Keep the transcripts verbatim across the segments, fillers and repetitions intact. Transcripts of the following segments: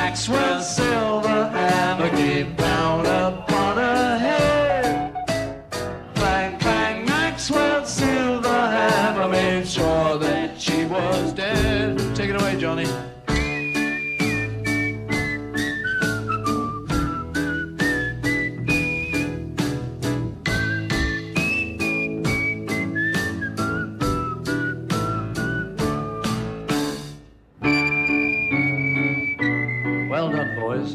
Maxwell Silverhammer came down upon her head. Clang, clang, Maxwell Silverhammer made sure that she was dead. Take it away, Johnny. Well done, boys.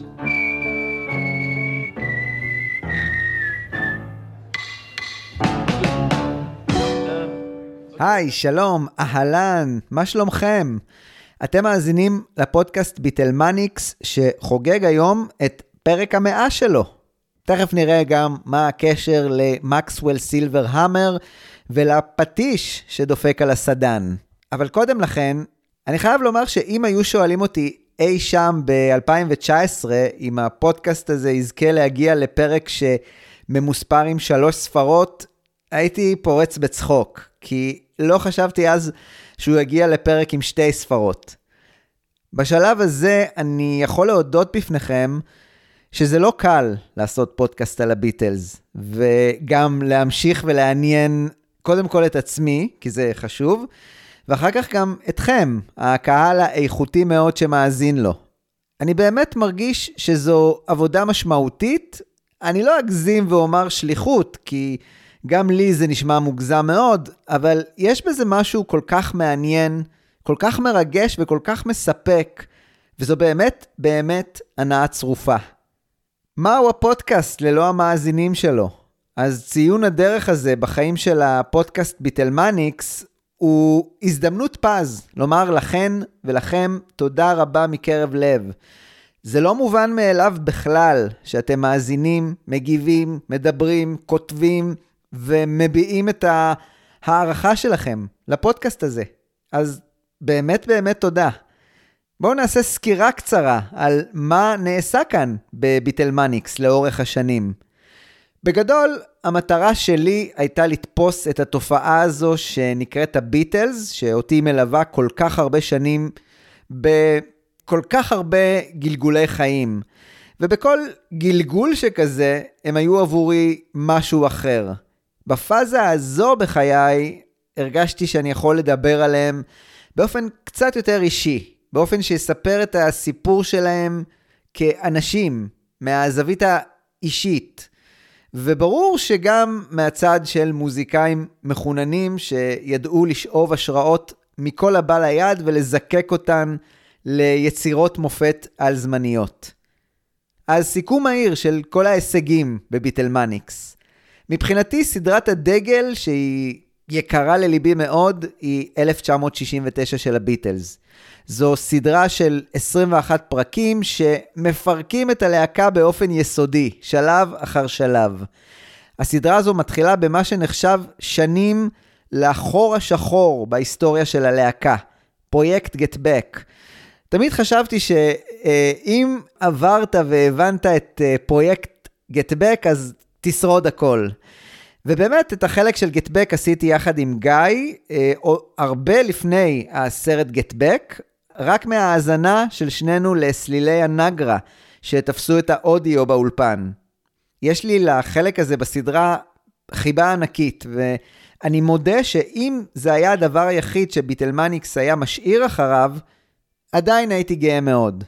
היי, שלום, אהלן, מה שלומכם? אתם מאזינים לפודקאסט ביטלמניקס שחוגג היום את פרק המאה שלו. תכף נראה גם מה הקשר למקסוול סילברהמר ולפטיש שדופק על הסדן. אבל קודם לכן, אני חייב לומר שאם היו שואלים אותי אי שם ב-אלפיים תשע עשרה, אם הפודקאסט הזה יזכה להגיע לפרק שממוספר עם שלוש ספרות, הייתי פורץ בצחוק, כי לא חשבתי אז שהוא יגיע לפרק עם שתי ספרות. בשלב הזה אני יכול להודות בפניכם שזה לא קל לעשות פודקאסט על הביטלס, וגם להמשיך ולעניין קודם כל את עצמי, כי זה חשוב, ואחר כך גם אתכם, הקהל האיכותי מאוד שמאזין לו. אני באמת מרגיש שזו עבודה משמעותית, אני לא אגזים ואומר שליחות, כי גם לי זה נשמע מוגזם מאוד, אבל יש בזה משהו כל כך מעניין, כל כך מרגש וכל כך מספק, וזו באמת, באמת הנאה צרופה. מהו הפודקאסט ללא המאזינים שלו? אז ציון הדרך הזה בחיים של הפודקאסט ביטלמניקס, הוא הזדמנות פז לומר לכן ולכם תודה רבה מקרב לב. זה לא מובן מאליו בכלל שאתם מאזינים, מגיבים, מדברים, כותבים ומביעים את הערכה שלכם לפודקאסט הזה. אז באמת באמת תודה. בואו נעשה סקירה קצרה על מה נעשה כאן בביטלמניקס לאורך השנים. בגדול, המטרה שלי הייתה לתפוס את התופעה הזו שנקראת הביטלס, שאותי מלווה כל כך הרבה שנים, בכל כך הרבה גלגולי חיים. ובכל גלגול שכזה, הם היו עבורי משהו אחר. בפאזה הזו בחיי, הרגשתי שאני יכול לדבר עליהם באופן קצת יותר אישי, באופן שיספר את הסיפור שלהם כאנשים, מהזווית האישית. וברור שגם מהצד של מוזיקאים מחוננים שידעו לשאוב השראות מכל הבא ליד ולזקק אותן ליצירות מופת על זמניות. אז סיכום מהיר של כל ההישגים בביטלמניקס. מבחינתי סדרת הדגל שהיא יקרה לליבי מאוד היא אלף תשע מאות שישים ותשע של הביטלס. זו סדרה של עשרים ואחד פרקים שמפרקים את הלהקה באופן יסודי, שלב אחר שלב. הסדרה הזו מתחילה במה שנחשב שנים לאחור השחור בהיסטוריה של הלהקה, פרויקט Get Back. תמיד חשבתי שאם עברת והבנת את פרויקט Get Back אז תשרוד הכל. ובאמת את החלק של Get Back עשיתי יחד עם גיא, הרבה לפני הסרט Get Back, רק מההאזנה של שנינו לסלילי הנגרה, שתפסו את האודיו באולפן. יש לי לחלק הזה בסדרה חיבה ענקית, ואני מודה שאם זה היה הדבר היחיד שביטלמניקס היה משאיר אחריו, עדיין הייתי גאה מאוד.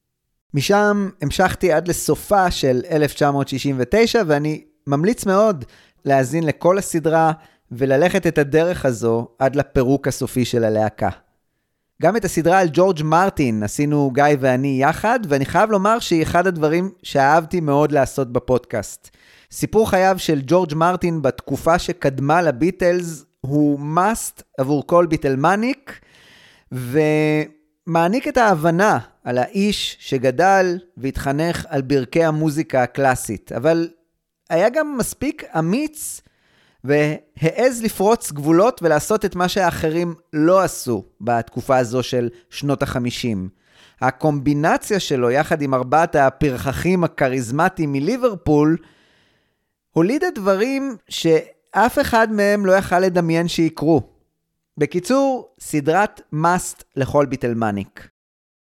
משם המשכתי עד לסופה של אלף תשע מאות שישים ותשע, ואני ממליץ מאוד להאזין לכל הסדרה וללכת את הדרך הזו עד לפירוק הסופי של הלהקה. גם את הסדרה על ג'ורג' מרטין עשינו גיא ואני יחד, ואני חייב לומר שהיא אחד הדברים שאהבתי מאוד לעשות בפודקאסט. סיפור חייו של ג'ורג' מרטין בתקופה שקדמה לביטלס הוא must עבור כל ביטלמניק, ומעניק את ההבנה על האיש שגדל והתחנך על ברכי המוזיקה הקלאסית, אבל היה גם מספיק אמיץ והעז לפרוץ גבולות ולעשות את מה שהאחרים לא עשו בתקופה הזו של שנות החמישים. הקומבינציה שלו יחד עם ארבעת הפרחחים הקריזמטיים מליברפול הולידה דברים שאף אחד מהם לא יכל לדמיין שיקרו. בקיצור, סדרת must לכל ביטלמניק.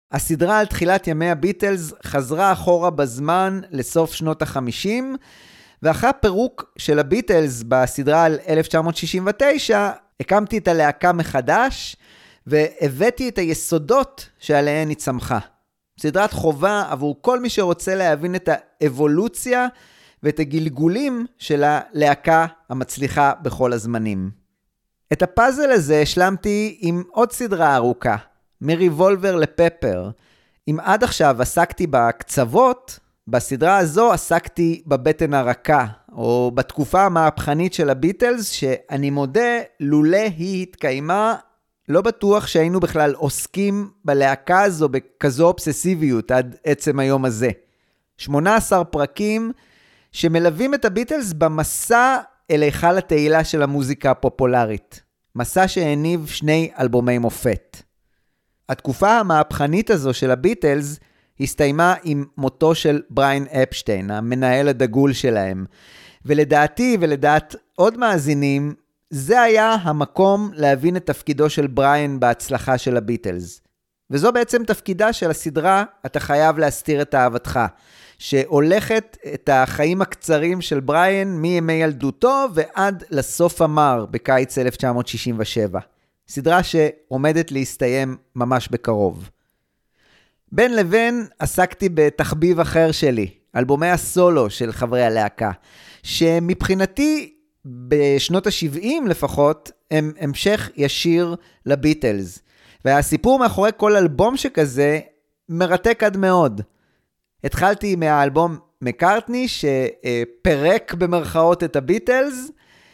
הסדרה על תחילת ימי הביטלס חזרה אחורה בזמן לסוף שנות ה-חמישים, ואחרי הפירוק של הביטלס בסדרה על אלף תשע מאות שישים ותשע, הקמתי את הלהקה מחדש, והבאתי את היסודות שעליהן היא צמחה. סדרת חובה עבור כל מי שרוצה להבין את האבולוציה ואת הגלגולים של הלהקה המצליחה בכל הזמנים. את הפאזל הזה השלמתי עם עוד סדרה ארוכה, מריבולבר לפפר. אם עד עכשיו עסקתי בקצוות, בסדרה הזו עסקתי בבטן הרכה, או בתקופה המהפכנית של הביטלס, שאני מודה, לולא היא התקיימה, לא בטוח שהיינו בכלל עוסקים בלהקה הזו בכזו אובססיביות עד עצם היום הזה. שמונה עשר פרקים שמלווים את הביטלס במסע אל היכל התהילה של המוזיקה הפופולרית. מסע שהניב שני אלבומי מופת. התקופה המהפכנית הזו של הביטלס הסתיימה עם מותו של בריין אפשטיין, המנהל הדגול שלהם. ולדעתי ולדעת עוד מאזינים, זה היה המקום להבין את תפקידו של בריין בהצלחה של הביטלס. וזו בעצם תפקידה של הסדרה אתה חייב להסתיר את אהבתך, שהולכת את החיים הקצרים של בריין מימי ילדותו ועד לסוף המר בקיץ אלף תשע מאות שישים ושבע. סדרה שעומדת להסתיים ממש בקרוב. בין לבין עסקתי בתחביב אחר שלי, אלבומי הסולו של חברי הלהקה, שמבחינתי בשנות ה-שבעים לפחות הם המשך ישיר לביטלס. והסיפור מאחורי כל אלבום שכזה מרתק עד מאוד. התחלתי מהאלבום מקארטני שפרק במרכאות את הביטלס,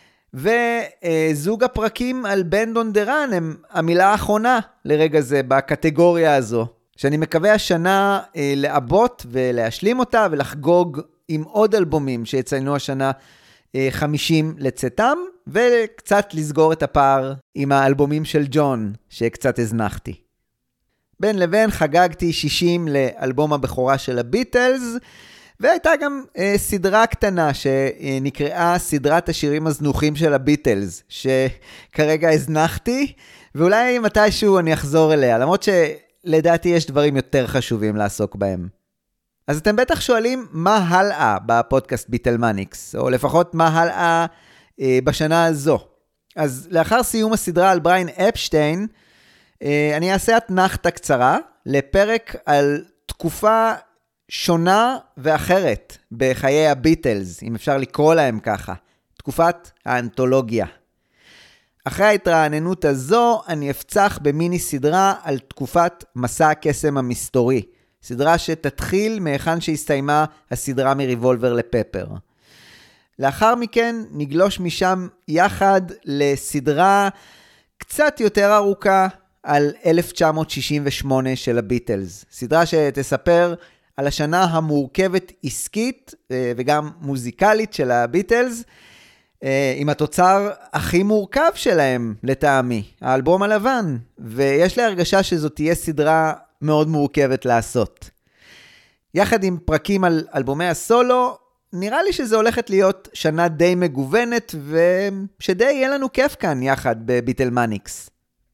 וזוג הפרקים על בנד און דה ראן הם המילה האחרונה לרגע זה בקטגוריה הזו, שאני מקווה השנה לעבות ולהשלים אותה ולחגוג עם עוד אלבומים שיציינו השנה חמישים לצאתם, וקצת לסגור את הפער עם האלבומים של ג'ון שקצת הזנחתי. בין לבין חגגתי שישים לאלבום הבכורה של הביטלס, והייתה גם אה, סדרה קטנה שנקראה סדרת השירים הזנוחים של הביטלס, שכרגע הזנחתי, ואולי מתישהו אני אחזור אליה, למרות שלדעתי יש דברים יותר חשובים לעסוק בהם. אז אתם בטח שואלים מה הלאה בפודקאסט ביטלמניקס, או לפחות מה הלאה אה, בשנה הזו. אז לאחר סיום הסדרה על בריין אפשטיין, אה, אני אעשה אתנחתה קצרה לפרק על תקופה שונה ואחרת בחיי הביטלס, אם אפשר לקרוא להם ככה, תקופת האנתולוגיה. אחרי ההתרעננות הזו, אני אפצח במיני סדרה על תקופת מסע הקסם המסתורי, סדרה שתתחיל מהיכן שהסתיימה הסדרה מריבולבר לפפר. לאחר מכן נגלוש משם יחד לסדרה קצת יותר ארוכה על אלף תשע מאות שישים ושמונה של הביטלס. סדרה שתספר על השנה המורכבת עסקית וגם מוזיקלית של הביטלס, עם התוצר הכי מורכב שלהם לטעמי, האלבום הלבן, ויש לי הרגשה שזו תהיה סדרה מאוד מורכבת לעשות. יחד עם פרקים על אלבומי הסולו, נראה לי שזה הולכת להיות שנה די מגוונת, ושדי יהיה לנו כיף כאן יחד בביטלמניקס.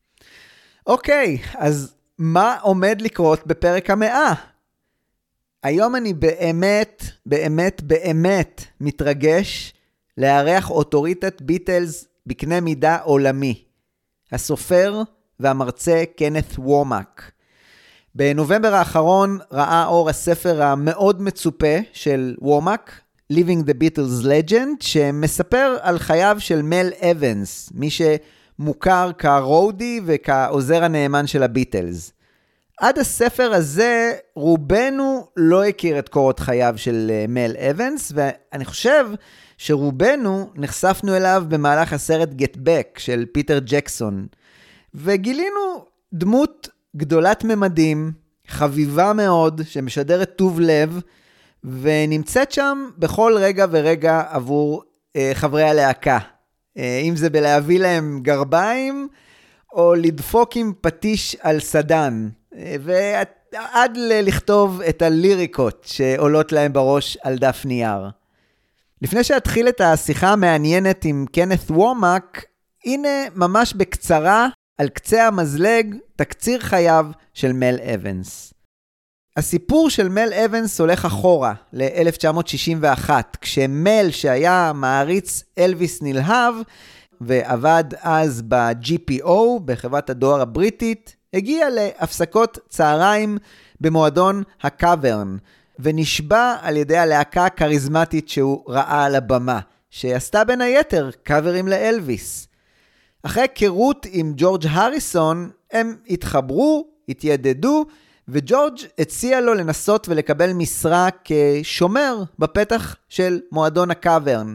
אוקיי, אז מה עומד לקרות בפרק המאה? היום אני באמת, באמת, באמת מתרגש לארח אוטוריטת ביטלס בקנה מידה עולמי. הסופר והמרצה קנת וורמק. בנובמבר האחרון ראה אור הספר המאוד מצופה של וורמק, Living the Beatles Legend, שמספר על חייו של מל אבנס, מי שמוכר כרודי וכעוזר הנאמן של הביטלס. עד הספר הזה רובנו לא הכיר את קורות חייו של מל אבנס, ואני חושב שרובנו נחשפנו אליו במהלך הסרט Get Back של פיטר ג'קסון, וגילינו דמות גדולת ממדים, חביבה מאוד, שמשדרת טוב לב, ונמצאת שם בכל רגע ורגע עבור אה, חברי הלהקה. אה, אם זה בלהביא להם גרביים, או לדפוק עם פטיש על סדן, אה, ועד לכתוב את הליריקות שעולות להם בראש על דף נייר. לפני שאתחיל את השיחה המעניינת עם קנת וורמק, הנה ממש בקצרה על קצה המזלג תקציר חייו של מל אבנס. הסיפור של מל אבנס הולך אחורה ל-אלף תשע מאות שישים ואחת, כשמל שהיה מעריץ אלוויס נלהב ועבד אז ב-ג'י פי או, בחברת הדואר הבריטית, הגיע להפסקות צהריים במועדון הקאברן, ונשבע על ידי הלהקה הקריזמטית שהוא ראה על הבמה, שעשתה בין היתר קאברים לאלוויס. אחרי היכרות עם ג'ורג' הריסון, הם התחברו, התיידדו, וג'ורג' הציע לו לנסות ולקבל משרה כשומר בפתח של מועדון הקאברן.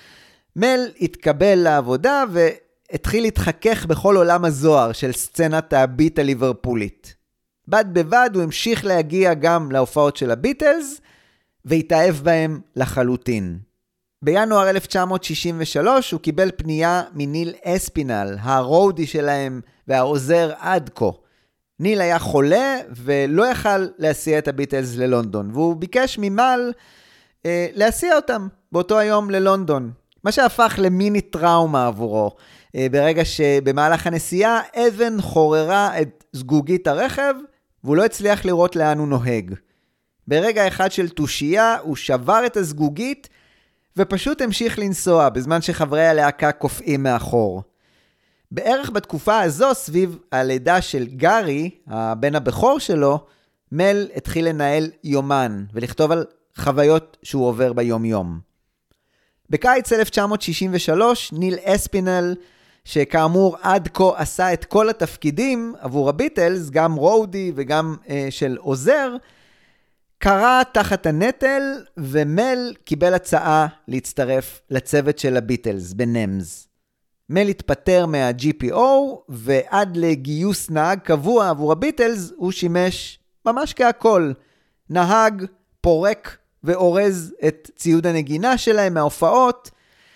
מל התקבל לעבודה והתחיל להתחכך בכל עולם הזוהר של סצנת הביט הליברפולית. בד בבד הוא המשיך להגיע גם להופעות של הביטלס, והתאהב בהם לחלוטין. בינואר אלף תשע מאות שישים ושלוש הוא קיבל פנייה מניל אספינל, הרודי שלהם והעוזר עד כה. ניל היה חולה ולא יכל להסיע את הביטלס ללונדון, והוא ביקש ממל אה, להסיע אותם באותו היום ללונדון. מה שהפך למיני טראומה עבורו, אה, ברגע שבמהלך הנסיעה אבן חוררה את זגוגית הרכב, והוא לא הצליח לראות לאן הוא נוהג. ברגע אחד של תושייה הוא שבר את הזגוגית, ופשוט המשיך לנסוע בזמן שחברי הלהקה קופאים מאחור. בערך בתקופה הזו, סביב הלידה של גארי, הבן הבכור שלו, מל התחיל לנהל יומן ולכתוב על חוויות שהוא עובר ביום יום. בקיץ אלף תשע מאות שישים ושלוש, ניל אספינל, שכאמור עד כה עשה את כל התפקידים עבור הביטלס, גם רודי וגם אה, של עוזר, קרא תחת הנטל, ומל קיבל הצעה להצטרף לצוות של הביטלס בנמז. מל התפטר מה-ג'י פי או, ועד לגיוס נהג קבוע עבור הביטלס, הוא שימש ממש כהכל. נהג, פורק ואורז את ציוד הנגינה שלהם מההופעות,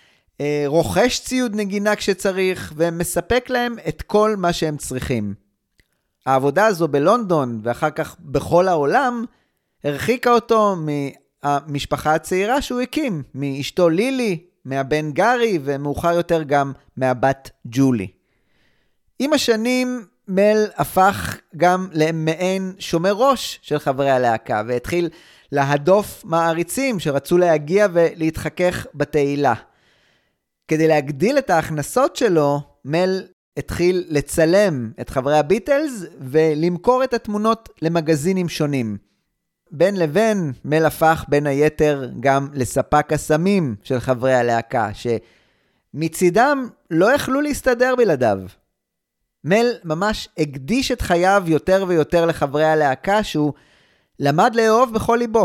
רוכש ציוד נגינה כשצריך, ומספק להם את כל מה שהם צריכים. העבודה הזו בלונדון, ואחר כך בכל העולם, הרחיקה אותו מהמשפחה הצעירה שהוא הקים, מאשתו לילי, מהבן גארי, ומאוחר יותר גם מהבת ג'ולי. עם השנים, מל הפך גם למעין שומר ראש של חברי הלהקה, והתחיל להדוף מעריצים שרצו להגיע ולהתחכך בתהילה. כדי להגדיל את ההכנסות שלו, מל התחיל לצלם את חברי הביטלס ולמכור את התמונות למגזינים שונים. בין לבין, מל הפך בין היתר גם לספק הסמים של חברי הלהקה, שמצידם לא יכלו להסתדר בלעדיו. מל ממש הקדיש את חייו יותר ויותר לחברי הלהקה, שהוא למד לאהוב בכל ליבו.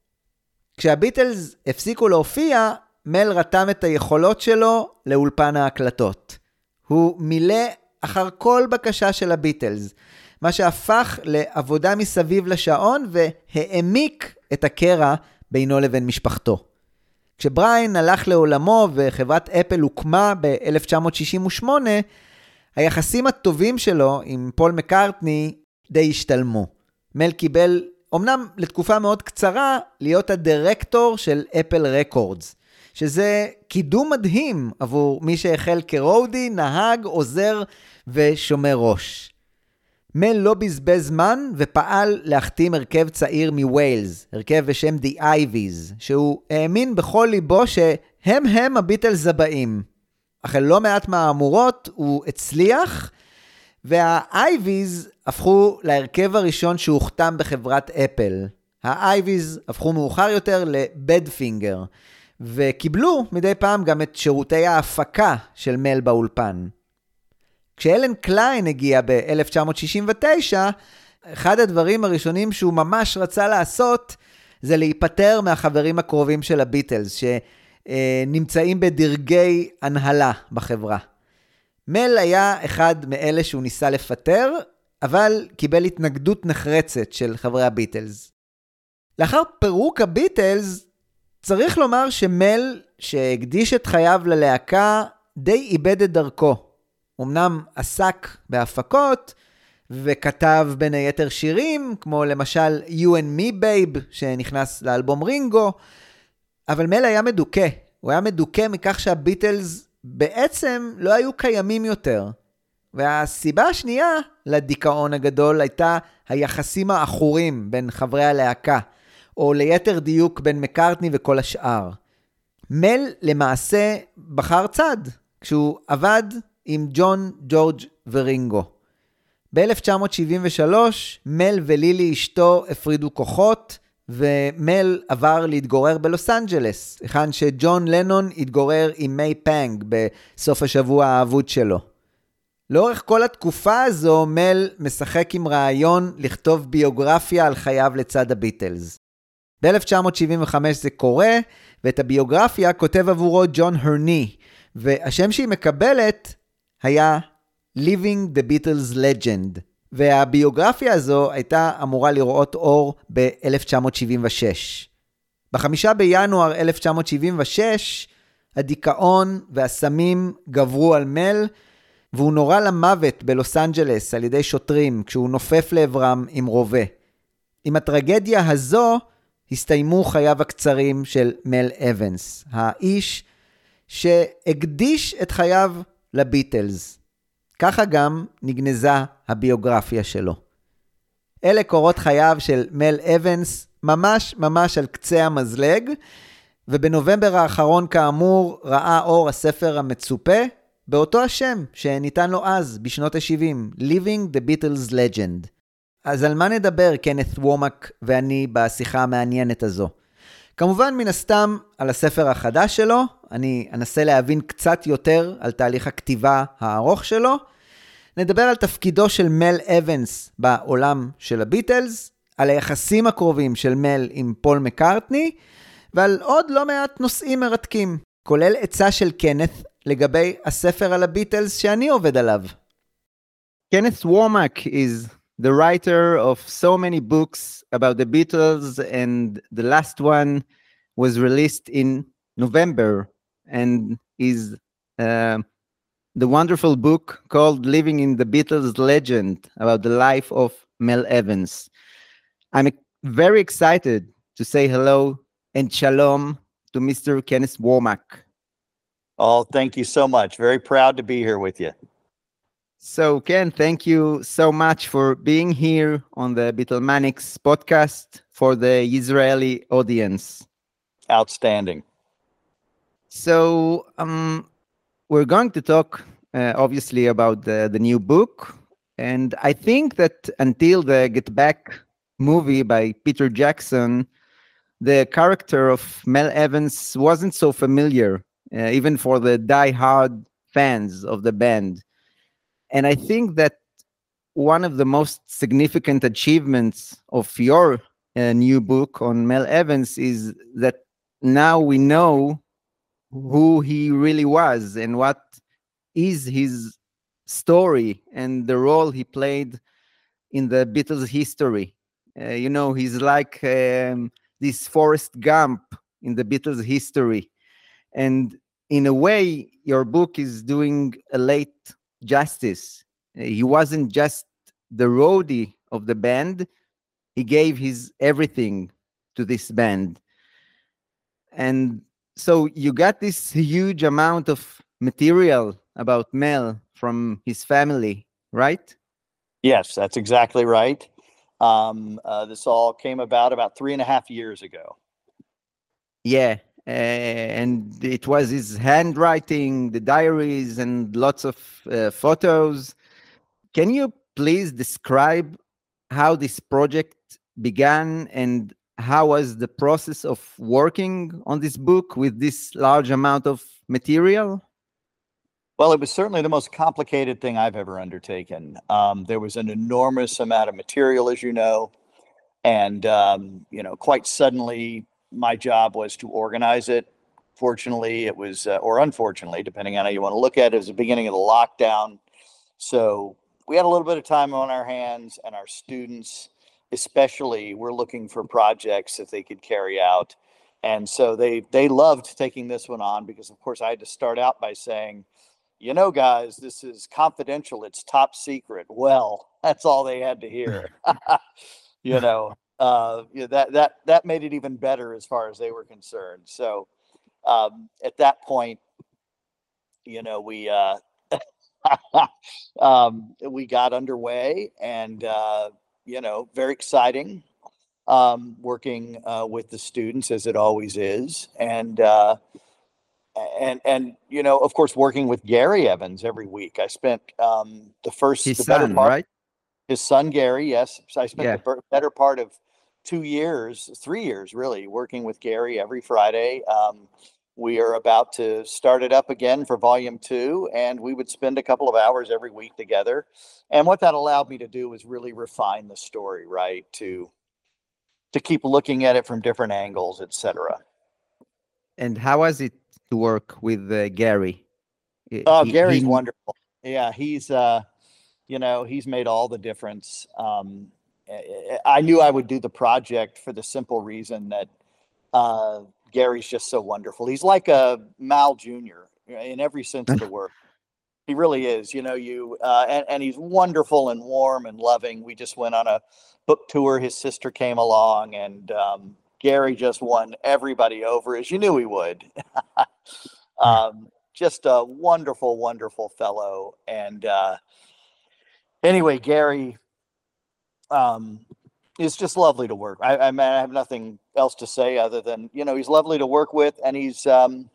כשהביטלס הפסיקו להופיע, מל רתם את היכולות שלו לאולפן ההקלטות. הוא מילא אחר כל בקשה של הביטלס, מה שהפך לעבודה מסביב לשעון והעמיק את הקרע בינו לבין משפחתו. כשבריין הלך לעולמו וחברת אפל הוקמה ב-אלף תשע מאות שישים ושמונה, היחסים הטובים שלו עם פול מקארטני די השתלמו. מל קיבל, אמנם לתקופה מאוד קצרה, להיות הדירקטור של אפל רקורדס, שזה קידום מדהים עבור מי שהחל כרודי, נהג, עוזר ושומר ראש. מל לא בזבז זמן ופעל להחתים הרכב צעיר מווילס, הרכב בשם The Ivies, שהוא האמין בכל ליבו שהם הם הביטלס הבאים. אך לא מעט מהאמורות הוא הצליח, וה-Ivies הפכו להרכב הראשון שהוכתם בחברת אפל. ה-Ivies הפכו מאוחר יותר לבדפינגר, וקיבלו מדי פעם גם את שירותי ההפקה של מל באולפן. כשאלן קליין הגיע ב-אלף תשע מאות שישים ותשע, אחד הדברים הראשונים שהוא ממש רצה לעשות, זה להיפטר מהחברים הקרובים של הביטלס, שנמצאים בדרגי הנהלה בחברה. מל היה אחד מאלה שהוא ניסה לפטר, אבל קיבל התנגדות נחרצת של חברי הביטלס. לאחר פירוק הביטלס, צריך לומר שמל, שהקדיש את חייו ללהקה, די איבד את דרכו. אמנם עסק בהפקות, וכתב בין היתר שירים, כמו למשל You and Me Babe, שנכנס לאלבום רינגו, אבל מל היה מדוכא. הוא היה מדוכא מכך שהביטלס בעצם לא היו קיימים יותר. והסיבה השנייה לדיכאון הגדול הייתה היחסים העכורים בין חברי הלהקה, או ליתר דיוק בין מקארטני וכל השאר. מל למעשה בחר צד, כשהוא עבד עם ג'ון, ג'ורג' ורינגו. ב-אלף תשע מאות שבעים ושלוש מל ולילי אשתו הפרידו כוחות, ומל עבר להתגורר בלוס אנג'לס, היכן שג'ון לנון התגורר עם מיי פאנג בסוף השבוע האבוד שלו. לאורך כל התקופה הזו מל משחק עם רעיון לכתוב ביוגרפיה על חייו לצד הביטלס. ב-אלף תשע מאות שבעים וחמש זה קורה, ואת הביוגרפיה כותב עבורו ג'ון הרני, והשם שהיא מקבלת היה Living the Beatles Legend, והביוגרפיה הזו הייתה אמורה לראות אור ב-אלף תשע מאות שבעים ושש. בחמישה בינואר אלף תשע מאות שבעים ושש, הדיכאון והסמים גברו על מל, והוא נורה למוות בלוס אנג'לס על ידי שוטרים כשהוא נופף לעברם עם רובה. עם הטרגדיה הזו הסתיימו חייו הקצרים של מל אבנס, האיש שהקדיש את חייו לביטלס. ככה גם נגנזה הביוגרפיה שלו. אלה קורות חייו של מל אבנס, ממש ממש על קצה המזלג, ובנובמבר האחרון כאמור ראה אור הספר המצופה, באותו השם שניתן לו אז, בשנות ה-שבעים, Living the Beatles Legend. אז על מה נדבר קנת וומק ואני בשיחה המעניינת הזו? כמובן מן הסתם על הספר החדש שלו, אני אנסה להבין קצת יותר על תהליך הכתיבה הארוך שלו, נדבר על תפקידו של מל אבנס בעולם של הביטלס, על היחסים הקרובים של מל עם פול מקארטני, ועל עוד לא מעט נושאים מרתקים, כולל עצה של קנת לגבי הספר על הביטלס שאני עובד עליו. Kenneth Womack is the writer of so many books about the Beatles, and the last one was released in November and is uh, the wonderful book called Living in the Beatles Legend about the life of Mel Evans. I'm very excited to say hello and shalom to Mister Kenneth Womack. Oh, thank you so much. Very proud to be here with you. So, Ken, thank you so much for being here on the Beatlemanics podcast for the Israeli audience. Outstanding. So, um, we're going to talk, uh, obviously, about the, the new book. And I think that until the Get Back movie by Peter Jackson, the character of Mel Evans wasn't so familiar, uh, even for the die-hard fans of the band. And I think that one of the most significant achievements of your uh, new book on Mel Evans is that now we know who he really was and what is his story and the role he played in the Beatles' history. Uh, you know, he's like um, this Forrest Gump in the Beatles' history. And in a way, your book is doing a late justice. Uh, he wasn't just the roadie of the band. He gave his everything to this band. And so you got this huge amount of material about Mel from his family, right? Yes, that's exactly right. Um, uh, this all came about about three and a half years ago. Yeah, uh, and it was his handwriting, the diaries, and lots of uh, photos. Can you please describe how this project began and how was the process of working on this book with this large amount of material? Well, it was certainly the most complicated thing I've ever undertaken. Um, there was an enormous amount of material, as you know, and, um, you know, quite suddenly my job was to organize it. Fortunately, it was, uh, or unfortunately, depending on how you want to look at it, it was the beginning of the lockdown. So we had a little bit of time on our hands, and our students especially were looking for projects that they could carry out. And so they they loved taking this one on because, of course, I had to start out by saying, you know, guys, this is confidential. It's top secret. Well, that's all they had to hear. you know, uh, yeah, that that that made it even better as far as they were concerned. So um, at that point, you know, we uh, um, we got underway, and uh, you know, very exciting. Um, working uh, with the students as it always is, and uh, and and you know, of course, working with Gary Evans every week. I spent um, the first, His the better son, part, right? his son Gary. Yes, so I spent the Yeah. ber- better part of two years, three years really, working with Gary every Friday. Um, we are about to start it up again for volume two, and we would spend a couple of hours every week together. And what that allowed me to do was really refine the story, right? To to keep looking at it from different angles, et cetera. And how was it to work with uh, Gary? Uh, Oh, He Gary's he. wonderful. Yeah, he's uh, you know, he's made all the difference. Um, I I knew I would do the project for the simple reason that uh, Gary's just so wonderful. He's like a Mal Junior in every sense of the word. He really is. You know, you uh, and and he's wonderful and warm and loving. We just went on a book tour. His sister came along, and um, Gary just won everybody over, as you knew he would. um, just a wonderful, wonderful fellow. And uh, anyway, Gary um, is just lovely to work. I, I mean, I have nothing else to say other than, you know, he's lovely to work with, and he's um,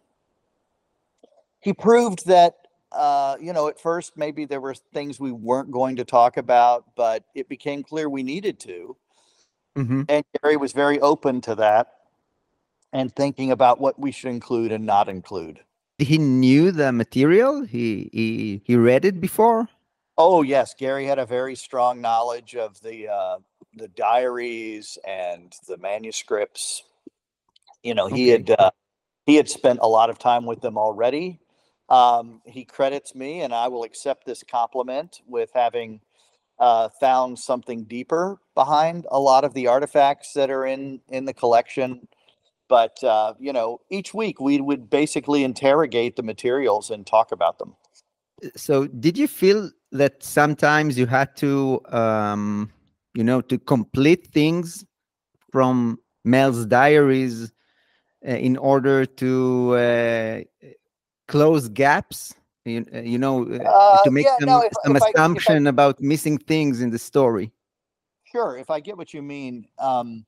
he proved that. Uh, you know, at first maybe there were things we weren't going to talk about, but it became clear we needed to. Mhm. And Gary was very open to that and thinking about what we should include and not include. He knew the material. He he he read it before. Oh yes, Gary had a very strong knowledge of the uh, the diaries and the manuscripts. You know, he Okay. had uh, he had spent a lot of time with them already. Um, he credits me, and I will accept this compliment, with having uh, found something deeper behind a lot of the artifacts that are in in the collection. But uh, you know, each week we would basically interrogate the materials and talk about them. So did you feel that sometimes you had to, um, you know, to complete things from Mel's diaries uh, in order to uh, close gaps? You, uh, you know, uh, Uh, to make yeah, some no. If some if I if I assumption about missing things in the story. sure, if I get what you mean, um,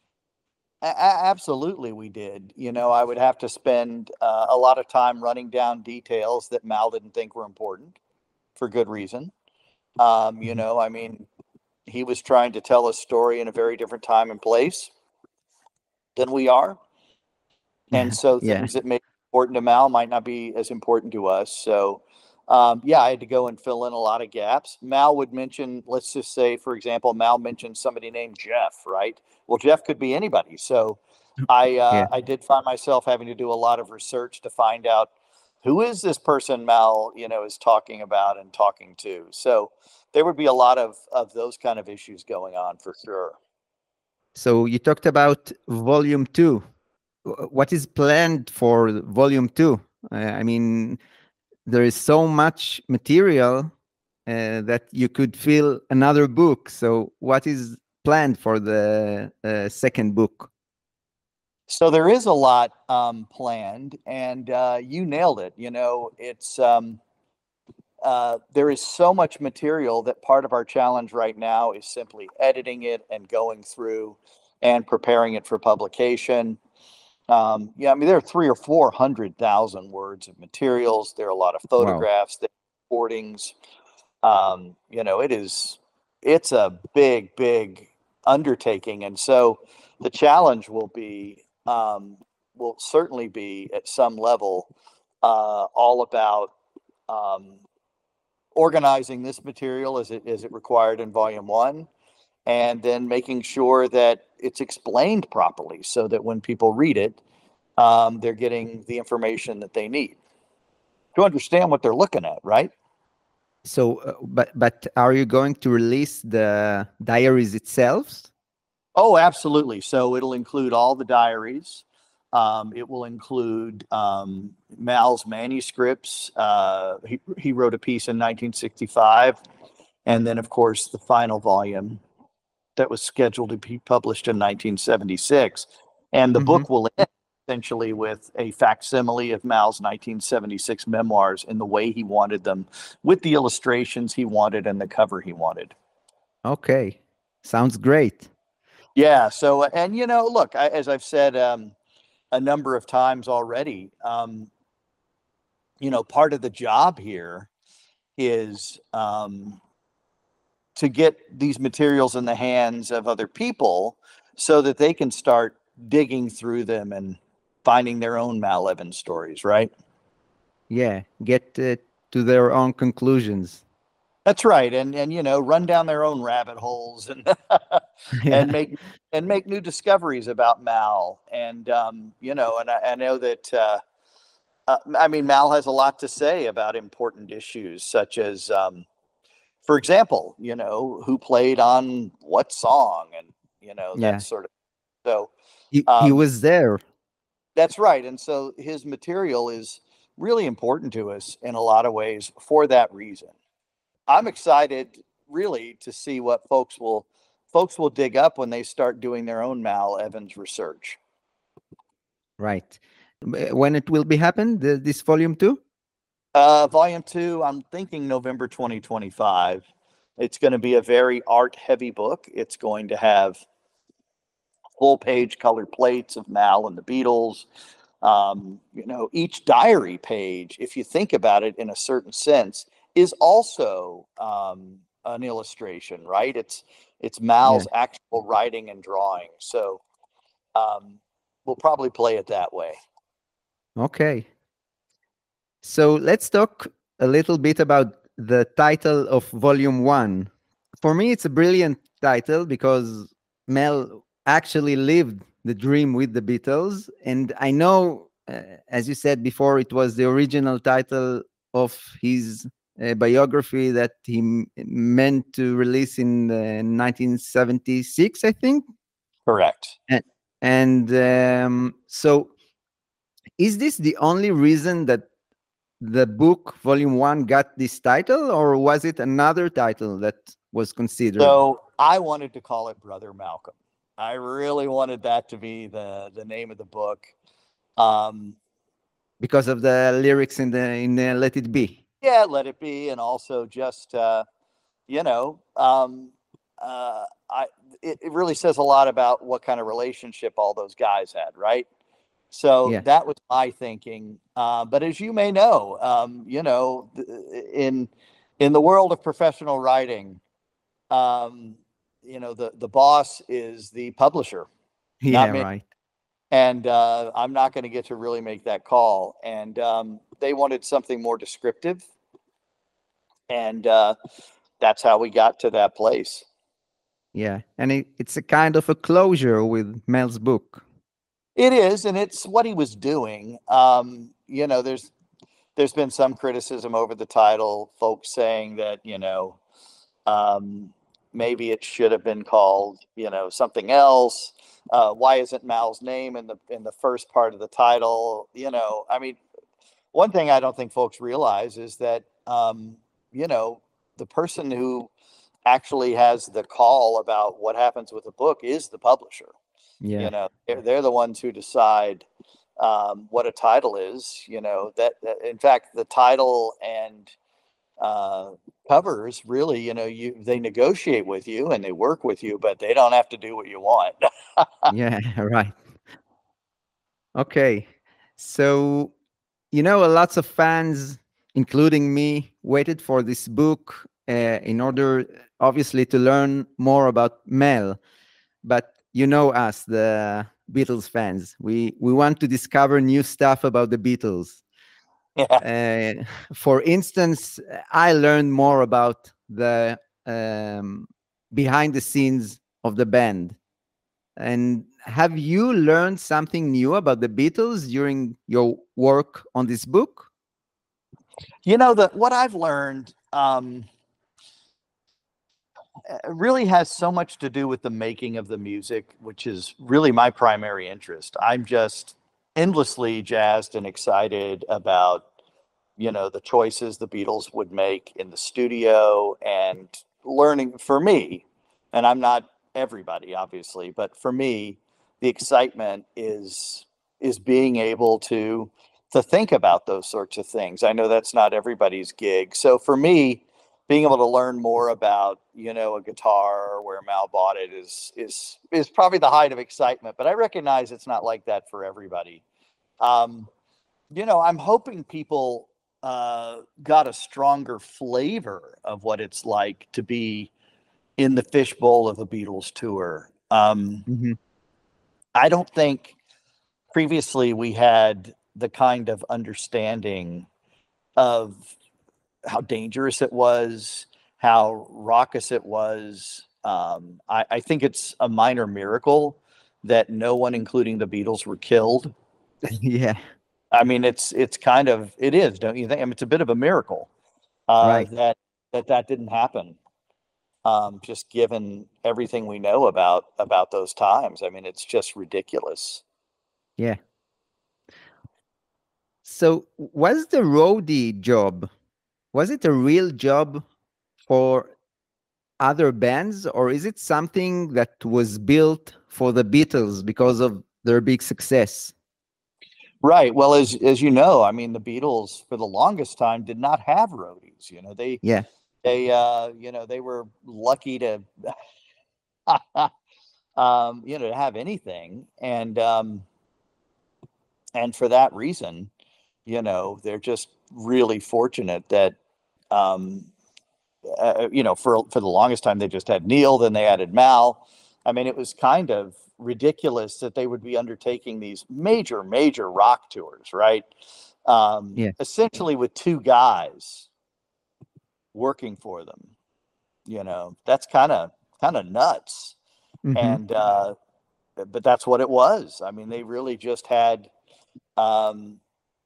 a- a- absolutely, we did. You know, I would have to spend uh, a lot of time running down details that Mal didn't think were important, for good reason. Um, you Mhm. know, I mean, he was trying to tell a story in a very different time and place than we are. And so Yeah. things that may be important to Mal might not be as important to us. So, um, yeah, I had to go and fill in a lot of gaps. Mal would mention, let's just say, for example, Mal mentioned somebody named Jeff, right? Well, Jeff could be anybody. So I, Yeah. uh, I did find myself having to do a lot of research to find out who is this person Mal, you know, is talking about and talking to. So there would be a lot of, of those kind of issues going on for sure. So you talked about volume two. Wh- What is planned for volume two? Uh, I mean, there is so much material uh, that you could fill another book. So what is planned for the uh, second book? So there is a lot um, planned, and uh, you nailed it. You know, it's um, uh, there is so much material that part of our challenge right now is simply editing it and going through and preparing it for publication. Um, yeah, I mean there are three or four hundred thousand words of materials. There are a lot of Wow. photographs, there are recordings. Um, you know, it is it's a big, big undertaking, and so the challenge will be um, will certainly be at some level uh, all about um, organizing this material as it as it required in volume one, and then making sure that it's explained properly so that when people read it, um, they're getting the information that they need to understand what they're looking at, right? So, uh, but but are you going to release the diaries itself? Oh, absolutely. So it'll include all the diaries. Um, it will include um, Mal's manuscripts. Uh, he, he wrote a piece in nineteen sixty-five. And then, of course, the final volume that was scheduled to be published in nineteen seventy-six. And the Mm-hmm. book will end essentially with a facsimile of Mal's nineteen seventy-six memoirs in the way he wanted them, with the illustrations he wanted and the cover he wanted. Okay, sounds great. Yeah. So, and you know, look, I, as I've said um, a number of times already, um, you know, part of the job here is um, to get these materials in the hands of other people so that they can start digging through them and finding their own Mal Evans stories, right? Yeah, get uh, to their own conclusions. That's right, and and you know, run down their own rabbit holes and Yeah, and make and make new discoveries about Mal. And um, you know, and I, I know that uh, uh, I mean, Mal has a lot to say about important issues, such as, um, for example, you know, who played on what song, and you know, that yeah. sort of. So He he um, was there. that's right, and so his material is really important to us in a lot of ways for that reason. I'm excited really to see what folks will folks will dig up when they start doing their own Mal Evans research. Right. B- When it will be happen, the, this volume two? Uh, volume two, I'm thinking November twenty twenty-five. It's going to be a very art heavy book. It's going to have full page colored plates of Mal and the Beatles. Um, you know, each diary page, if you think about it in a certain sense, is also um, an illustration, right? It's it's Yeah. Mal's actual writing and drawing. So um, we'll probably play it that way. Okay. So let's talk a little bit about the title of volume one. For me, it's a brilliant title because Mel actually lived the dream with the Beatles. And I know, uh, as you said before, it was the original title of his uh, biography that he m- meant to release in uh, nineteen seventy-six, I think. Correct. And, and um, so, is this the only reason that the book volume one got this title, or was it another title that was considered? So I wanted to call it Brother Malcolm. I really wanted that to be the the name of the book. Um, Because of the lyrics in the in the Let It Be. yeah, let it be, and also just uh, you know, um, uh, I it, it really says a lot about what kind of relationship all those guys had, right? So Yeah. that was my thinking. Uh, but as you may know, um, you know, th- in in the world of professional writing, um, you know, the the boss is the publisher, not Yeah, me. right. And uh, I'm not going to get to really make that call. And um, they wanted something more descriptive, and uh, that's how we got to that place. Yeah. And it, it's a kind of a closure with Mel's book. It is, and it's what he was doing. Um, you know, there's there's been some criticism over the title, folks saying that, you know, um, maybe it should have been called, you know, something else. Uh, why isn't Mal's name in the in the first part of the title? You know, I mean, one thing I don't think folks realize is that, um, you know, the person who actually has the call about what happens with a book is the publisher. Yeah. You know, they're, they're the ones who decide um, what a title is. You know, that, that in fact, the title and uh, covers really, you know, you they negotiate with you and they work with you, but they don't have to do what you want. Yeah, right. Okay. So, you know, lots of fans, including me, waited for this book uh, in order, obviously, to learn more about Mel. But you know us, the Beatles fans. We we want to discover new stuff about the Beatles. Yeah. Uh, for instance, I learned more about the um, behind the scenes of the band. And have you learned something new about the Beatles during your work on this book? You know, that what I've learned um, uh, really has so much to do with the making of the music, which is really my primary interest. I'm just endlessly jazzed and excited about, you know, the choices the Beatles would make in the studio, and learning for me, and I'm not everybody obviously, but for me, the excitement is is being able to to think about those sorts of things. I know that's not everybody's gig. So for me, being able to learn more about, you know, a guitar or where Mal bought it is is is probably the height of excitement. But I recognize it's not like that for everybody. Um, you know, I'm hoping people uh, got a stronger flavor of what it's like to be in the fishbowl of a Beatles tour. Um, Mm-hmm. I don't think previously we had the kind of understanding of how dangerous it was, how raucous it was. Um, I, I think it's a minor miracle that no one, including the Beatles, were killed. Yeah, I mean, it's it's kind of it is, don't you think? I mean, it's a bit of a miracle uh, right. that that that didn't happen. Um, just given everything we know about about those times, I mean, it's just ridiculous. Yeah. So was the roadie job, was it a real job for other bands, or is it something that was built for the Beatles because of their big success? Right. Well, as as you know, I mean, the Beatles for the longest time did not have roadies. You know, they Yeah. they uh, you know they were lucky to um, you know to have anything, and um, and for that reason, you know, they're just really fortunate that um, uh, you know for for the longest time they just had Neil, then they added Mal. I mean, it was kind of ridiculous that they would be undertaking these major, major rock tours, right? Um, Yeah. essentially with two guys working for them. You know, that's kind of kind of nuts. Mm-hmm. And uh, but that's what it was. I mean, they really just had um,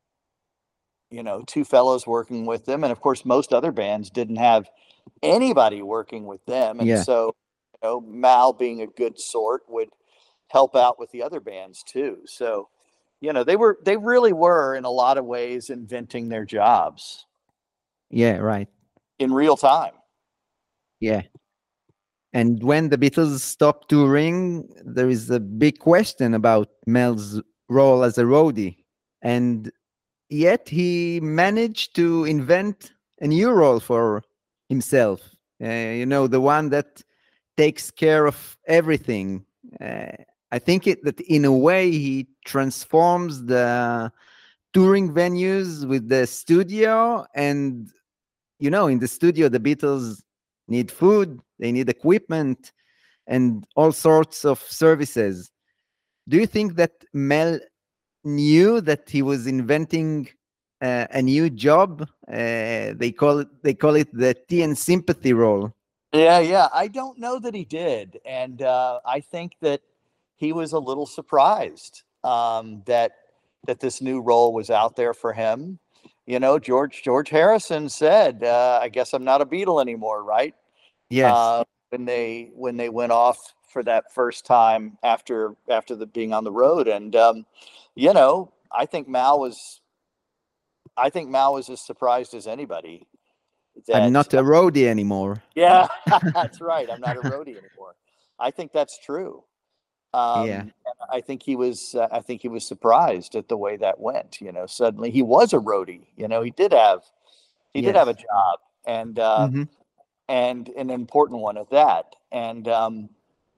you know, two fellows working with them, and of course, most other bands didn't have anybody working with them, and Yeah. so you know, Mal being a good sort would help out with the other bands too. So, you know, they were they really were in a lot of ways inventing their jobs Yeah, right. in real time. Yeah. And when the Beatles stopped touring, there is a big question about Mel's role as a roadie. And yet he managed to invent a new role for himself. Uh, you know, the one that takes care of everything. Uh, I think it, that in a way he transforms the touring venues with the studio. And, you know, in the studio, the Beatles need food, they need equipment, and all sorts of services. Do you think that Mel knew that he was inventing uh, a new job? Uh, they call it they call it the tea and sympathy role. Yeah, yeah. I don't know that he did, and uh, I think that he was a little surprised um, that that this new role was out there for him. You know, George George Harrison said, uh, "I guess I'm not a Beatle anymore," right? Yes. Uh, when they when they went off for that first time after after the being on the road, and um, you know, I think Mal was I think Mal was as surprised as anybody I'm that not a roadie anymore. yeah, that's right. I'm not a roadie anymore. I think that's true. Um, Yeah. and I think he was. Uh, I think he was surprised at the way that went. You know, suddenly he was a roadie. You know, he did have he did Yes. have a job, and uh, Hmm. and an important one at that. And um,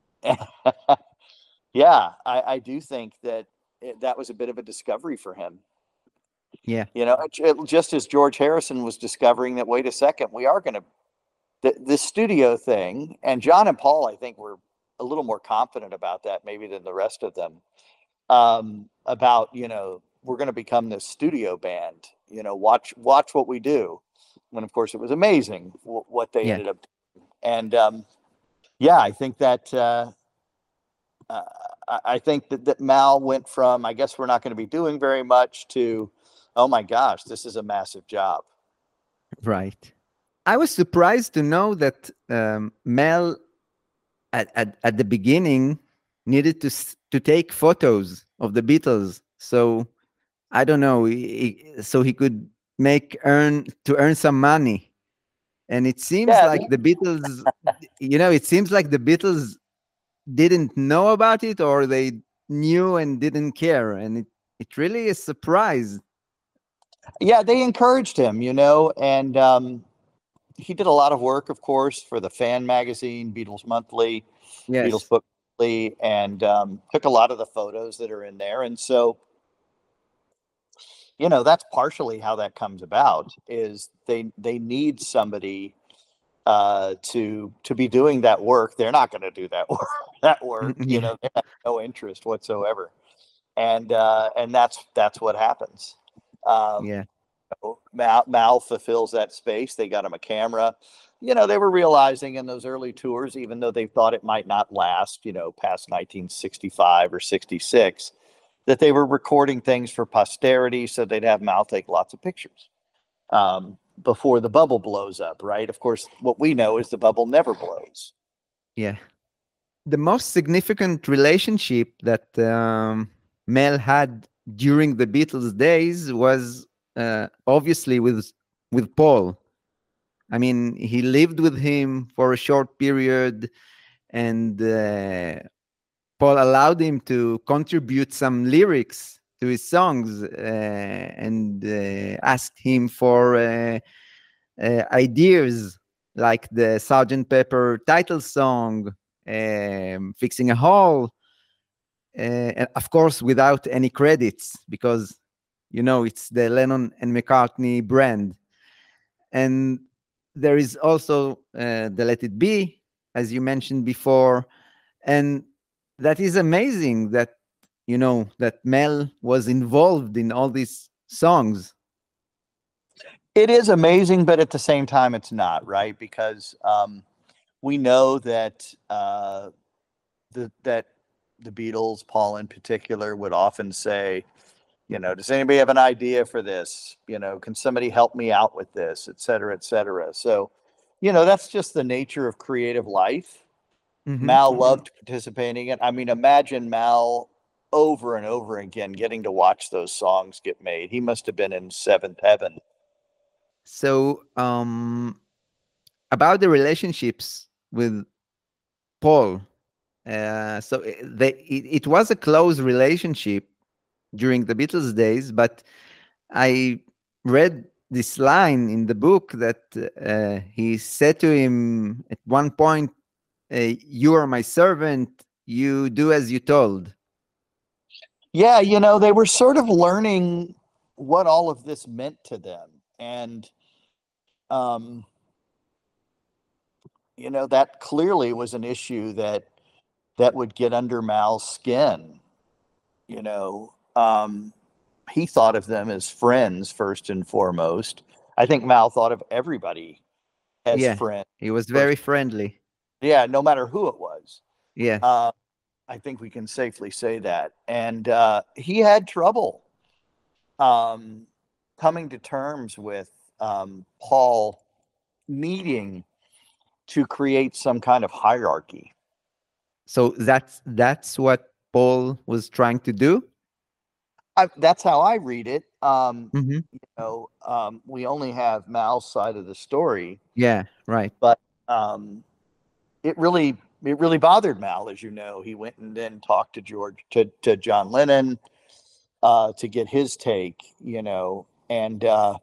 yeah, I, I do think that it, that was a bit of a discovery for him. Yeah. You know, it, it- just as George Harrison was discovering that. Wait a second, we are going to the the studio thing, and John and Paul, I think, were a little more confident about that maybe than the rest of them. Um, about you know we're going to become this studio band. You know, watch watch what we do. When of course it was amazing w- what they Yeah. ended up doing. And um, yeah, I think that uh, uh, I I think that that Mal went from I guess we're not going to be doing very much to oh my gosh, this is a massive job. Right. I was surprised to know that um, Mel at, at at the beginning needed to s- to take photos of the Beatles. So I don't know. He, he- so he could make earn to earn some money. And it seems Yeah, like the Beatles, you know, it seems like the Beatles didn't know about it, or they knew and didn't care. And it it really is a surprise. Yeah, they encouraged him, you know, and um, he did a lot of work, of course, for the fan magazine, Beatles Monthly, Yes. Beatles Book Monthly, and um, took a lot of the photos that are in there. And so, you know, that's partially how that comes about. Is they they need somebody uh, to to be doing that work. They're not going to do that work. That work, you Yeah. know, they have no interest whatsoever. And uh, and that's that's what happens. Um, Yeah. Mal, Mal fulfills that space. They got him a camera. You know, they were realizing in those early tours, even though they thought it might not last, you know, past nineteen sixty-five or sixty-six, that they were recording things for posterity so they'd have Mal take lots of pictures um, before the bubble blows up, right? Of course, what we know is the bubble never blows. Yeah. The most significant relationship that um, Mel had during the Beatles days was uh, obviously with with Paul. I mean, he lived with him for a short period, and uh, Paul allowed him to contribute some lyrics to his songs, uh, and uh, asked him for uh, uh, ideas like the Sergeant Pepper title song, um, Fixing a Hole, uh, and of course, without any credits, because, you know, it's the Lennon and McCartney brand. And there is also uh, the Let It Be, as you mentioned before. And that is amazing that, you know, that Mel was involved in all these songs. It is amazing, but at the same time, it's not, right? Because um, we know that uh, the that the Beatles, Paul in particular, would often say, you know, does anybody have an idea for this? You know, can somebody help me out with this, et cetera, et cetera. So, you know, that's just the nature of creative life. Mhm. Mal loved participating in it. I mean, imagine Mal over and over again getting to watch those songs get made. He must have been in seventh heaven. So, um, about the relationships with Paul, uh, so i- they, it, it was a close relationship during the Beatles days, but I read this line in the book that uh, he said to him at one point, uh, "You are my servant. You do as you told." Yeah, you know, they were sort of learning what all of this meant to them. And, um, you know, that clearly was an issue that that would get under Mal's skin. You know, um, he thought of them as friends first and foremost. I think Mal thought of everybody as Yeah, friends he was first. very friendly. Yeah, no matter who it was. Yes. Uh, I think we can safely say that. And uh, he had trouble um, coming to terms with um, Paul needing to create some kind of hierarchy. So that's that's what Paul was trying to do. I, that's how I read it. Um, Hmm. you know, um, we only have Mal's side of the story, Yeah, right. but um, it really it really bothered Mal, as you know. He went and then talked to George to to John Lennon uh, to get his take. You know, and uh,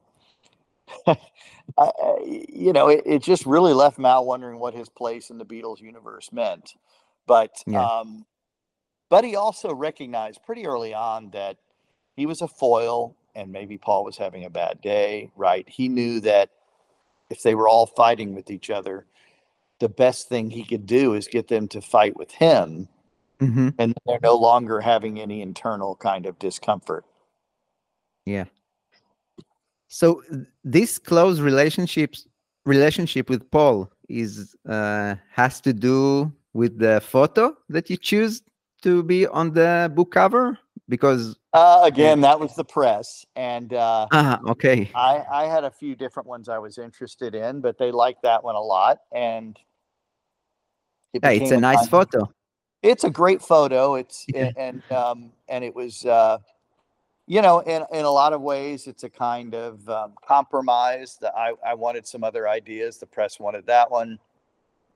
I, you know, it, it just really left Mal wondering what his place in the Beatles universe meant. But Yeah. um, but he also recognized pretty early on that he was a foil, and maybe Paul was having a bad day. Right? He knew that if they were all fighting with each other, the best thing he could do is get them to fight with him, Hmm. and they're no longer having any internal kind of discomfort. Yeah. So th- this close relationships relationship with Paul is uh, has to do with the photo that you choose to be on the book cover, because Uh, uh, again, that was the press, and uh, ah, okay. I, I had a few different ones I was interested in, but they liked that one a lot, and it Yeah, it's became a a nice kind of, photo. it's a great photo. It's Yeah. and um, and it was uh, you know, in in a lot of ways, it's a kind of um, compromise. That I I wanted some other ideas. The press wanted that one,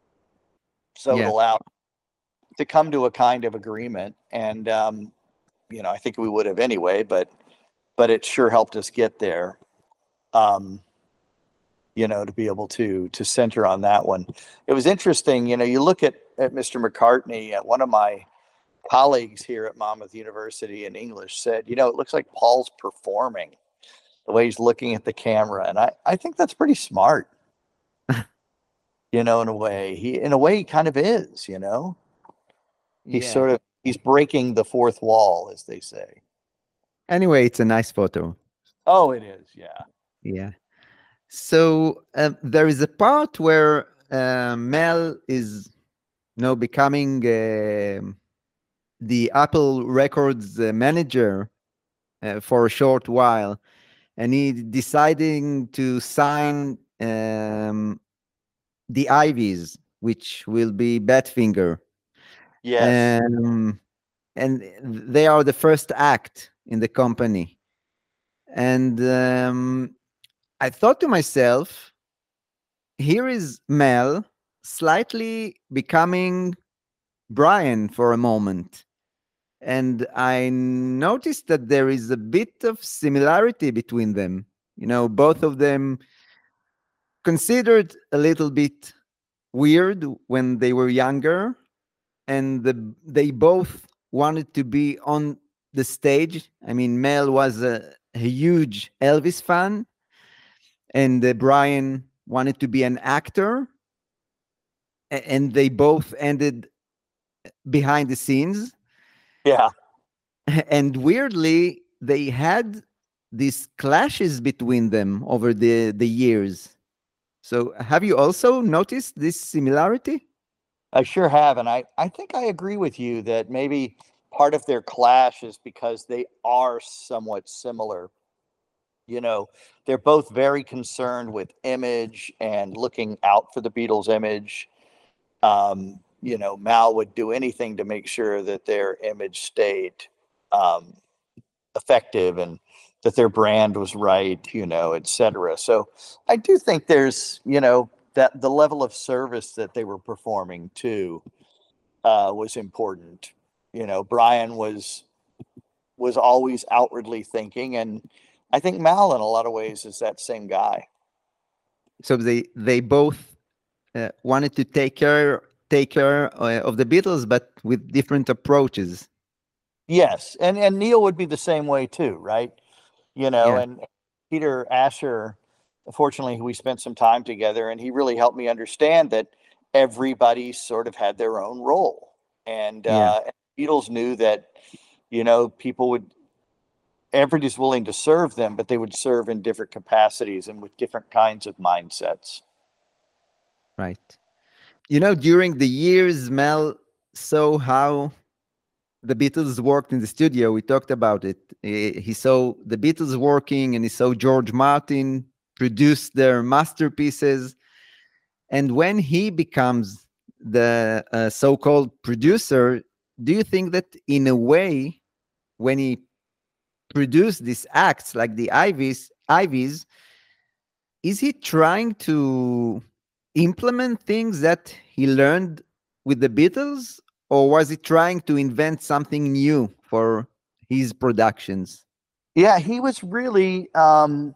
so it Yeah. allowed to come to a kind of agreement. And um, you know, I think we would have anyway, but but it sure helped us get there. Um, you know, to be able to to center on that one. It was interesting, you know, you look at at Mister McCartney, uh, one of my colleagues here at Monmouth University in English said, you know, it looks like Paul's performing the way he's looking at the camera. And I, I think that's pretty smart, you know, in a way. He in a way he kind of is, you know. He's Yeah. sort of he's breaking the fourth wall, as they say. Anyway, it's a nice photo. Oh, it is, yeah. Yeah. So uh, there is a part where uh, Mel is, you know, becoming uh, the Apple Records uh, manager uh, for a short while, and he deciding to sign um, the Ivies, which will be Badfinger. Yes. Um, and they are the first act in the company. And um, I thought to myself, here is Mel slightly becoming Brian for a moment. And I noticed that there is a bit of similarity between them. You know, both of them considered a little bit weird when they were younger, and the, they both wanted to be on the stage. I mean, Mel was a, a huge Elvis fan, and uh, Brian wanted to be an actor, a- and they both ended behind the scenes. Yeah. And weirdly, they had these clashes between them over the, the years. So have you also noticed this similarity? I sure have. And I, I think I agree with you that maybe part of their clash is because they are somewhat similar. You know, they're both very concerned with image and looking out for the Beatles' image. Um, you know, Mal would do anything to make sure that their image stayed um, effective and that their brand was right, you know, et cetera. So I do think there's, you know, that the level of service that they were performing too uh, was important. You know, Brian was was always outwardly thinking, and I think Mal in a lot of ways is that same guy. So they they both uh, wanted to take care take care uh, of the Beatles, but with different approaches. Yes, and and Neil would be the same way too, right? You know, Yeah. and Peter Asher, fortunately, we spent some time together, and he really helped me understand that everybody sort of had their own role, and Yeah. uh, Beatles knew that, you know, people would everybody's willing to serve them, but they would serve in different capacities and with different kinds of mindsets. Right. You know, during the years, Mel saw how the Beatles worked in the studio. We talked about it. He, he saw the Beatles working, and he saw George Martin produce their masterpieces. And when he becomes the uh, so-called producer, do you think that in a way, when he produced these acts like the Ivies, Ivies, is he trying to implement things that he learned with the Beatles, or was he trying to invent something new for his productions? Yeah, he was really um,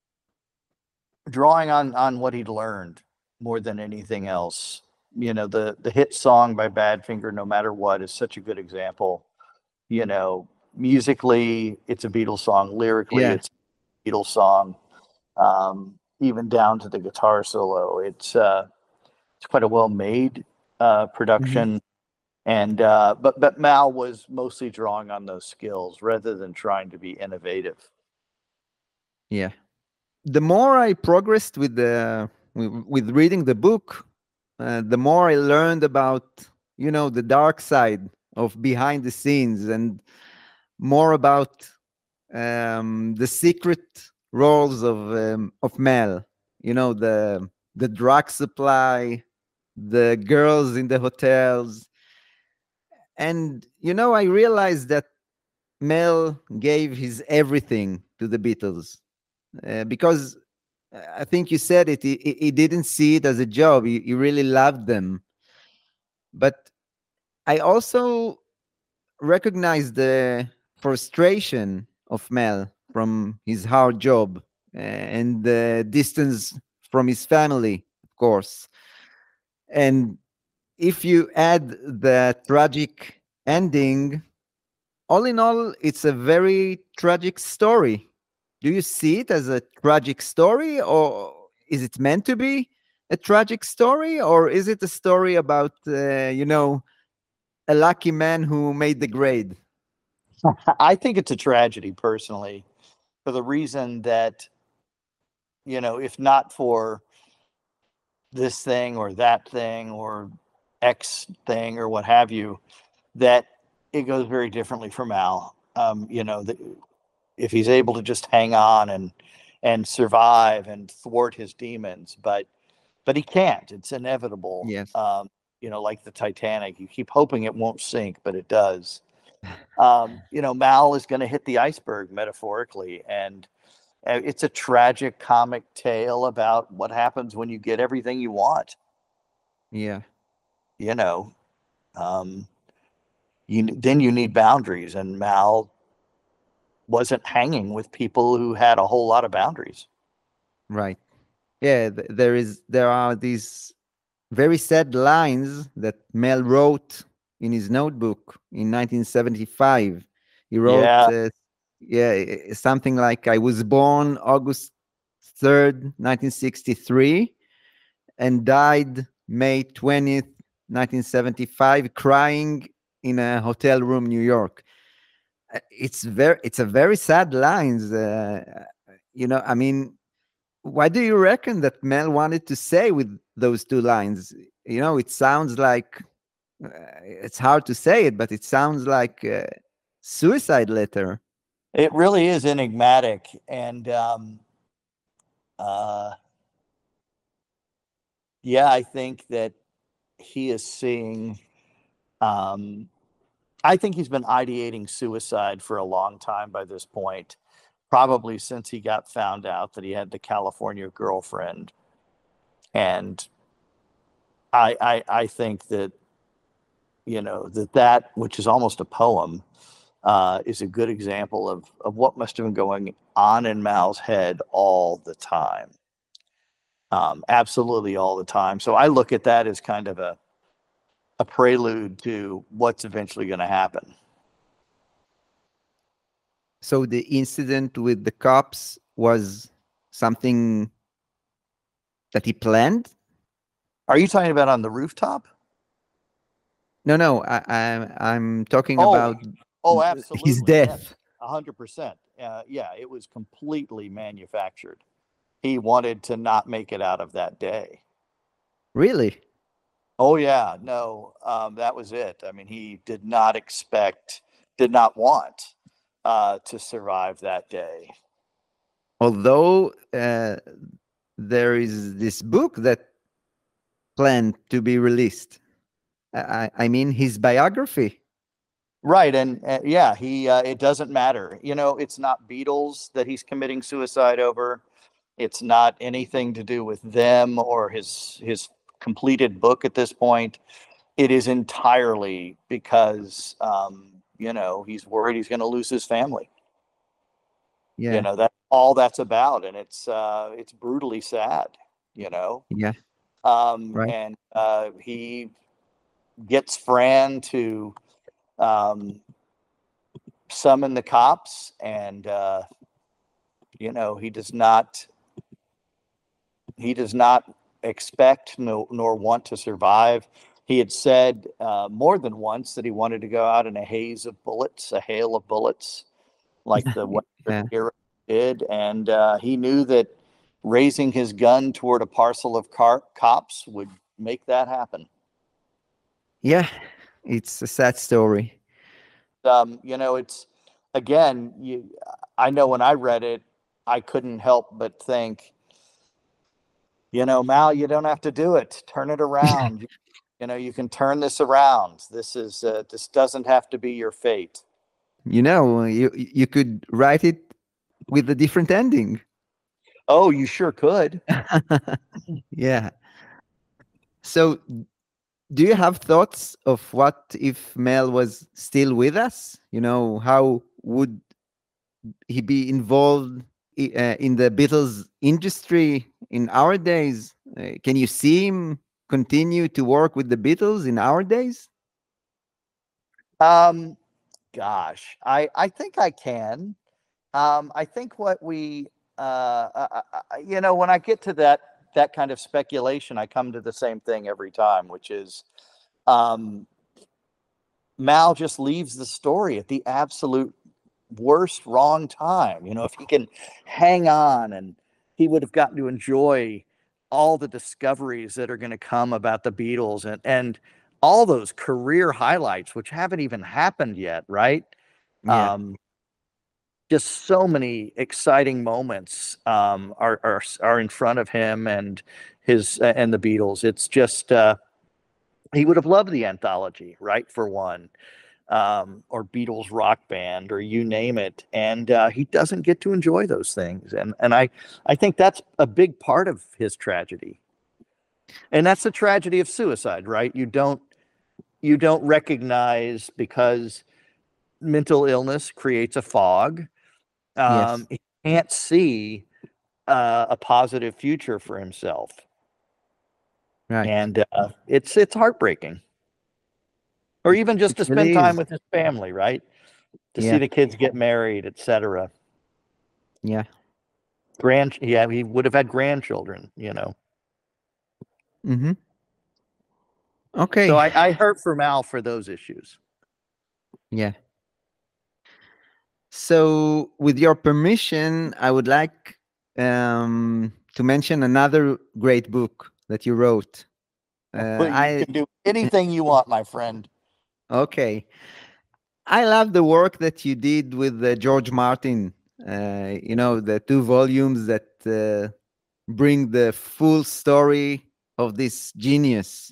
drawing on on what he'd learned more than anything else. You know, the the hit song by Badfinger, "No Matter What," is such a good example. You know, musically, it's a Beatles song. Lyrically, Yeah. it's a Beatles song. Um, even down to the guitar solo, it's uh, it's quite a well made uh, Mhm. production. And uh, but but Mal was mostly drawing on those skills rather than trying to be innovative. Yeah. The more I progressed with the with, with reading the book, uh, the more I learned about, you know, the dark side of behind the scenes, and more about um, the secret roles of um, of Mel. You know, the the drug supply, the girls in the hotels, and you know, I realized that Mel gave his everything to the Beatles uh, because uh, I think you said it. He, he he didn't see it as a job. He, he really loved them, but I also recognize the frustration of Mel from his hard job uh, and the distance from his family, of course. And if you add the tragic ending, all in all, it's a very tragic story. Do you see it as a tragic story, or is it meant to be a tragic story, or is it a story about, uh, you know, a lucky man who made the grade? I think it's a tragedy personally, for the reason that, you know, if not for this thing or that thing or X thing or what have you, that it goes very differently for Mal. Um, you know, that if he's able to just hang on and and survive and thwart his demons, but but he can't. It's inevitable. Yes. Um, you know, like the Titanic, you keep hoping it won't sink, but it does. Um, you know, Mal is going to hit the iceberg metaphorically, and uh, it's a tragic comic tale about what happens when you get everything you want. Yeah. You know, um, you then you need boundaries, and Mal wasn't hanging with people who had a whole lot of boundaries. Right. Yeah, th- there is there are these very sad lines that Mel wrote in his notebook in nineteen seventy-five. He wrote, Yeah. uh, yeah, i- i- something like, "I was born August third, nineteen sixty-three, and died May twentieth, nineteen seventy-five, crying in a hotel room, New York." Uh, It's very, it's a very sad lines. Uh, you know, I mean, what do you reckon that Mel wanted to say with those two lines? You know, it sounds like uh, it's hard to say it, but it sounds like a suicide letter. It really is enigmatic, and um, uh, yeah, I think that he is seeing. Um, I think he's been ideating suicide for a long time by this point, probably since he got found out that he had the California girlfriend, and I, I, I think that, you know, that that which is almost a poem, uh, is a good example of of what must have been going on in Mal's head all the time. Um, absolutely all the time. So I look at that as kind of a a prelude to what's eventually going to happen. So the incident with the cops was something that he planned? Are you talking about on the rooftop? No, no, I, I'm I'm talking Oh, about Oh, th- absolutely. his death. A hundred percent. Uh, yeah, it was completely manufactured. He wanted to not make it out of that day. Really? Oh yeah, no, um, that was it. I mean, he did not expect, did not want uh, to survive that day. Although uh, there is this book that planned to be released. I, I I mean, his biography. Right, and uh, yeah, he. Uh, it doesn't matter. You know, it's not Beatles that he's committing suicide over. It's not anything to do with them or his his completed book at this point. It is entirely because um, you know, he's worried he's going to lose his family. Yeah, You know, that's all that's about, and it's uh, it's brutally sad. You know, yeah, um, right. and uh, he gets Fran to um, summon the cops, and uh, you know, he does not he does not expect no, nor want to survive. He had said uh, more than once that he wanted to go out in a haze of bullets, a hail of bullets, like the Yeah. Western hero did, and uh, he knew that raising his gun toward a parcel of car- cops would make that happen. Yeah, it's a sad story. Um, you know, it's again, you. I know when I read it, I couldn't help but think, you know, Mal, you don't have to do it. Turn it around. You, you know, you can turn this around. This is uh, this doesn't have to be your fate. You know, you you could write it with a different ending. Oh, you sure could. Yeah. So, do you have thoughts of what if Mel was still with us? You know, how would he be involved i- uh, in the Beatles industry in our days? Uh, can you see him continue to work with the Beatles in our days? Um, gosh, I I think I can. Um, I think what we, uh, uh, uh, you know, when I get to that that kind of speculation, I come to the same thing every time, which is um, Mal just leaves the story at the absolute worst wrong time. You know, if he can hang on, and he would have gotten to enjoy all the discoveries that are going to come about the Beatles, and and all those career highlights, which haven't even happened yet, right? Yeah. Um, just so many exciting moments um, are, are are in front of him and his uh, and the Beatles. It's just uh, he would have loved the anthology, right? For one, um, or Beatles rock band, or you name it, and uh, he doesn't get to enjoy those things, and and I I think that's a big part of his tragedy, and that's the tragedy of suicide, right? You don't you don't recognize, because mental illness creates a fog. Yes. Um, he can't see uh, a positive future for himself, Right. and uh, it's it's heartbreaking. Or even just It to spend really time is. with his family, right? To see Yeah. the kids get married, et cetera. Yeah. Grand, yeah, he would have had grandchildren, you know. Mm-hmm. So Okay. I, I hurt for Mal for those issues. Yeah. So, with your permission, I would like um, to mention another great book that you wrote. Uh, But you I can do anything you want, my friend. okay. I love the work that you did with uh, George Martin. Uh, you know, the two volumes that uh, bring the full story of this genius.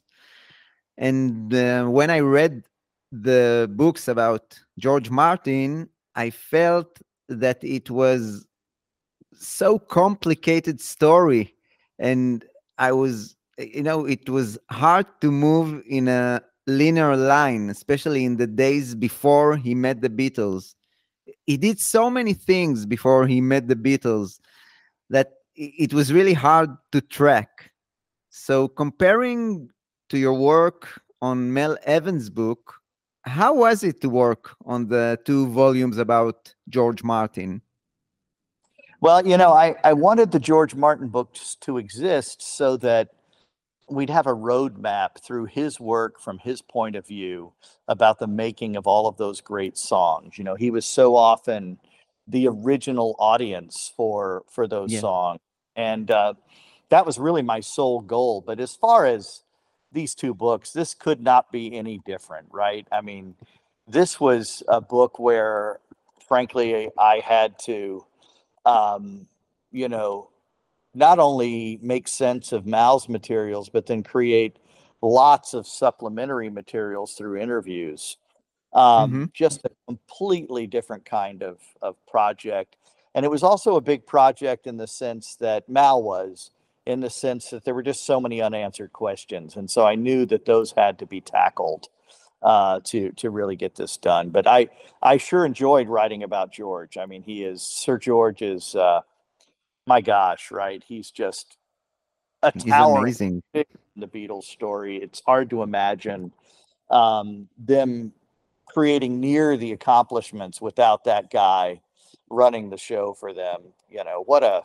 And uh, when I read the books about George Martin, I felt that it was so complicated story, and I was, you know, it was hard to move in a linear line, especially in the days before he met the Beatles. He did so many things before he met the Beatles that i- it was really hard to track. So comparing to your work on Mel Evans' book, how was it to work on the two volumes about George Martin? Well, you know, I, I wanted the George Martin books to exist so that we'd have a roadmap through his work from his point of view about the making of all of those great songs. You know, he was so often the original audience for for those Yeah. songs, and uh, that was really my sole goal. But as far as these two books, this could not be any different, right? I mean, this was a book where, frankly, I had to, um, you know, not only make sense of Mal's materials, but then create lots of supplementary materials through interviews. Mm-hmm. Um, just a completely different kind of, of project. And it was also a big project in the sense that Mal was, in the sense that there were just so many unanswered questions. And so I knew that those had to be tackled uh, to to really get this done. But I I sure enjoyed writing about George. I mean, he is Sir George is uh, my gosh, right? He's just a Is towering amazing. figure in the Beatles story. It's hard to imagine um, them creating near the accomplishments without that guy running the show for them. You know, what a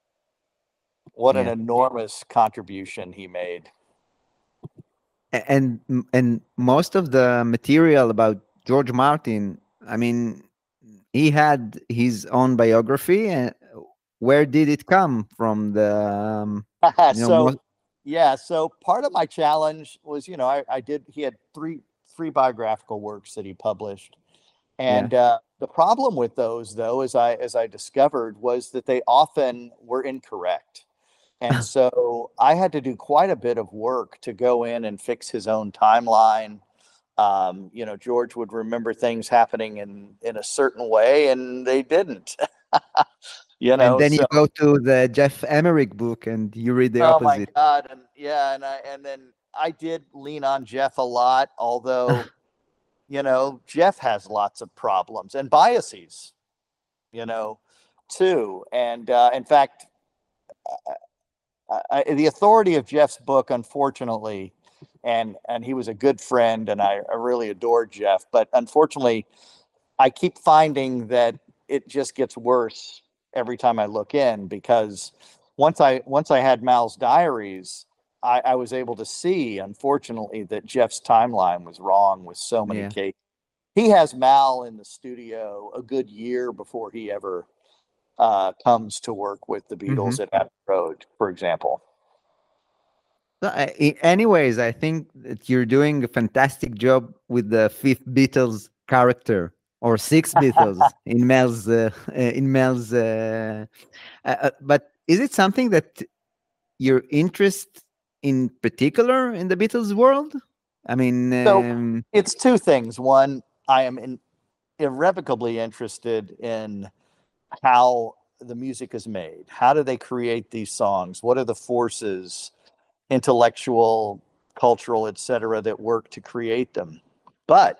what an Yeah. enormous contribution he made. A- And and most of the material about George Martin, I mean, he had his own biography. And where did it come from? The um, you know So most. yeah, so part of my challenge was, you know, I, I did he had three three biographical works that he published. Yeah. And uh, the problem with those, though, as I as I discovered, was that they often were incorrect. And so I had to do quite a bit of work to go in and fix his own timeline. Um, you know, George would remember things happening in in a certain way, and they didn't. you And know, then you so go to the Jeff Emerick book and you read the oh my opposite. God, and yeah, and I and then I did lean on Jeff a lot, although you know, Jeff has lots of problems and biases, you know, too. And uh, in fact, I, I, the authority of Jeff's book, unfortunately, and and he was a good friend, and I, I really adored Jeff, but unfortunately, I keep finding that it just gets worse every time I look in, because once I once I had Mal's diaries, I, I was able to see, unfortunately, that Jeff's timeline was wrong with so many Yeah. cases. He has Mal in the studio a good year before he ever uh, comes to work with the Mhm. Beatles at Abbey Road, for example. So, I- I- anyways, I think that you're doing a fantastic job with the fifth Beatles character or six Beatles in Mel's uh, uh, in Mel's. Uh, uh, uh, but is it something that you're interested in particular in the Beatles world? I mean, So um, it's two things. One, I am in, irrevocably interested in how the music is made. How do they create these songs? What are the forces, intellectual, cultural, et cetera, that work to create them? But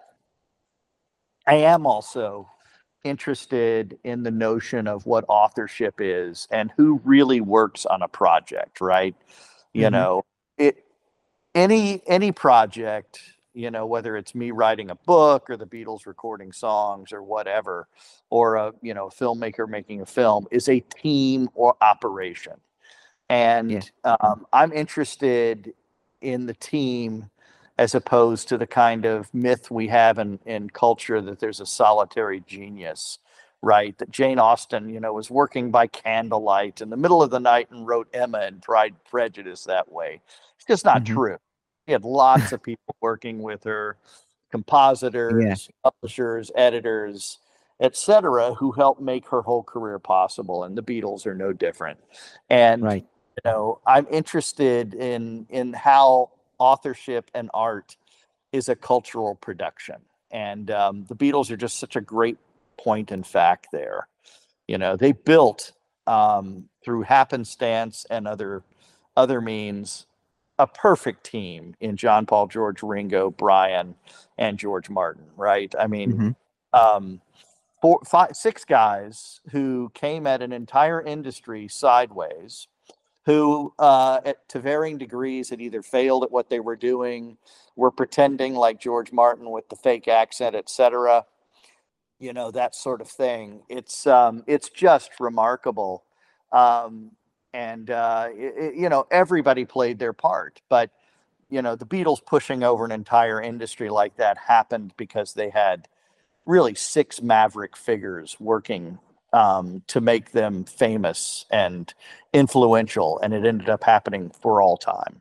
I am also interested in the notion of what authorship is and who really works on a project, right? You mhm, know, it any any project, you know, whether it's me writing a book or the Beatles recording songs or whatever, or a, you know, filmmaker making a film, is a team or operation. yeah, And um, I'm interested in the team as opposed to the kind of myth we have in, in culture that there's a solitary genius, right? That Jane Austen, you know, was working by candlelight in the middle of the night and wrote Emma and Pride and Prejudice that way. It's just not mhm, true. She had lots of people working with her, yeah, compositors, publishers, editors, et cetera, who helped make her whole career possible. And the Beatles are no different. And right. you know, I'm interested in in how authorship and art is a cultural production, and um, the Beatles are just such a great point in fact there. You know, they built um, through happenstance and other other means a perfect team in John, Paul, George, Ringo, Brian, and George Martin. Right? I mean, Mhm, um, four, five, six guys who came at an entire industry sideways, who, uh, at, to varying degrees, had either failed at what they were doing, were pretending like George Martin with the fake accent, et cetera. You know, that sort of thing. It's um, it's just remarkable, um, and uh, it, it- you know, everybody played their part. But you know, the Beatles pushing over an entire industry like that happened because they had really six maverick figures working um, to make them famous and influential, and it ended up happening for all time.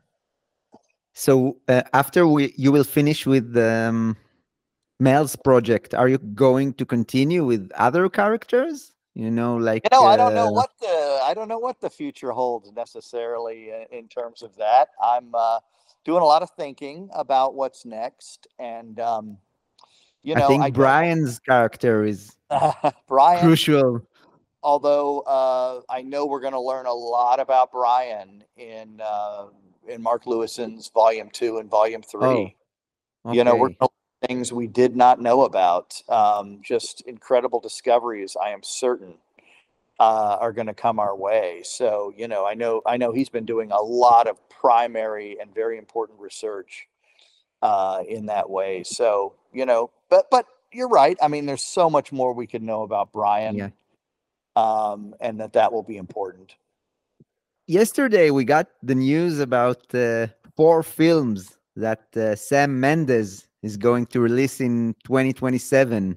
So uh, after we you will finish with um, Mel's project, are you going to continue with other characters? You know, You like know, I don't know uh, what the I don't know what the future holds necessarily in, in terms of that. I'm uh, doing a lot of thinking about what's next, and um, you I know, I think don't. Brian's character is Brian, crucial. although uh, I know we're going to learn a lot about Brian in uh, in Mark Lewison's Volume Two and Volume Oh, Three. You know, we're okay. going to learn things we did not know about. Um, just incredible discoveries, I am certain, uh, are going to come our way. So, you know, I know I know he's been doing a lot of primary and very important research uh, in that way. So, you know, but but you're right. I mean, there's so much more we could know about Yeah. Brian, um, and that that will be important. Yesterday we got the news about uh, four films that uh, Sam Mendes is going to release in twenty twenty-seven.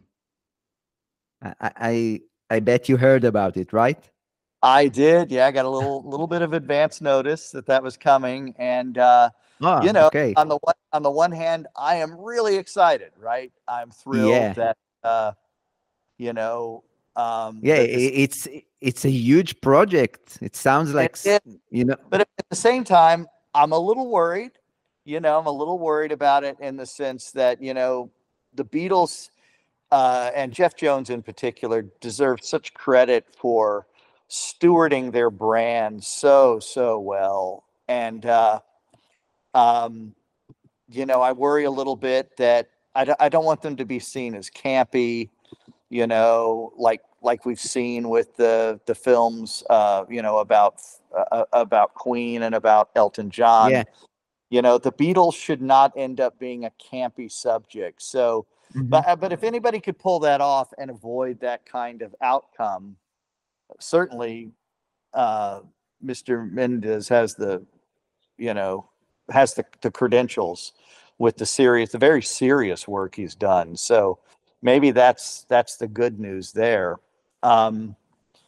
I, I I I bet you heard about it, right? I did, yeah. I got a little little bit of advance notice that that was coming, and uh, Ah, you know, okay. on the one on the one hand, I am really excited. Right, I'm thrilled Yeah. that uh, you know um, Yeah, that this. i- it's it's a huge project. It sounds It like s- is, you know. but at the same time, I'm a little worried. You know, I'm a little worried about it in the sense that, you know, the Beatles uh, and Jeff Jones in particular deserve such credit for stewarding their brand so, so well. And, uh, um, you know, I worry a little bit that I, d- I don't want them to be seen as campy, you know, like like we've seen with the the films, uh, you know, about uh, about Queen and about Elton John. Yeah. You know, the Beatles should not end up being a campy subject. So, Mhm. but but if anybody could pull that off and avoid that kind of outcome, certainly uh, mister Mendes has the, you know, has the, the credentials with the serious, the very serious work he's done. So maybe that's that's the good news there. Um,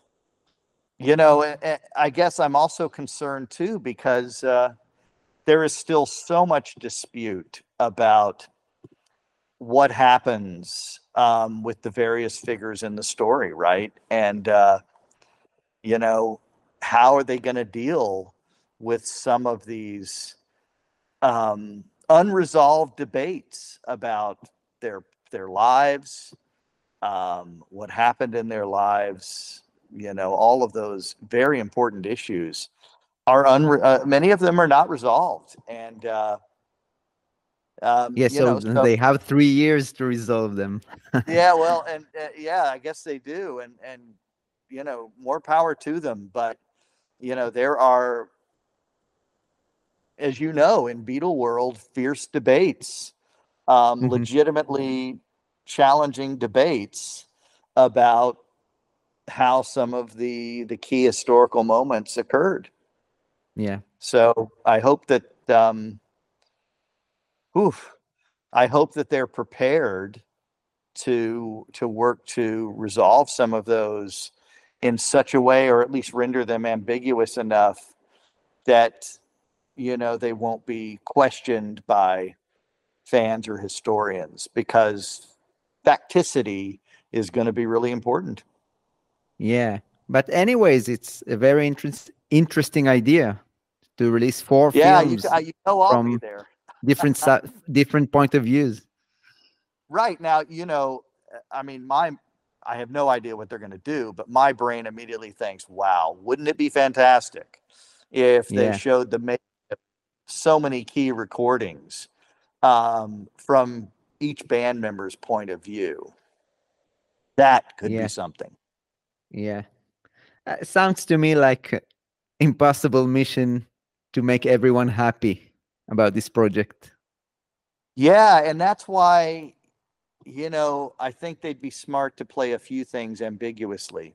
you know, a- a- I guess I'm also concerned too because uh, there is still so much dispute about what happens um, with the various figures in the story, right? And uh, you know, how are they going to deal with some of these um, unresolved debates about their their lives, um, what happened in their lives? You know, all of those very important issues are unre- uh, many of them are not resolved, and uh, um, Yeah, you so know, th- so they have three years to resolve them. yeah, well, and uh, yeah, I guess they do, and and you know, more power to them. But you know, there are, as you know, in Beatle world, fierce debates, um, Mhm. legitimately challenging debates about how some of the the key historical moments occurred. Yeah. So I hope that um, oof, I hope that they're prepared to to work to resolve some of those in such a way, or at least render them ambiguous enough that you know they won't be questioned by fans or historians, because facticity is going to be really important. Yeah. But anyways, it's a very interest, interesting idea to release four Yeah, you, films you know I'll be from there. different si- different point of views. Right now, you know, I mean, my I have no idea what they're going to do, but my brain immediately thinks, "Wow, wouldn't it be fantastic if they Yeah. showed the make so many key recordings um, from each band member's point of view? That could be Yeah. something." Yeah. Uh, sounds to me like a impossible mission to make everyone happy about this project. Yeah, and that's why, you know, I think they'd be smart to play a few things ambiguously.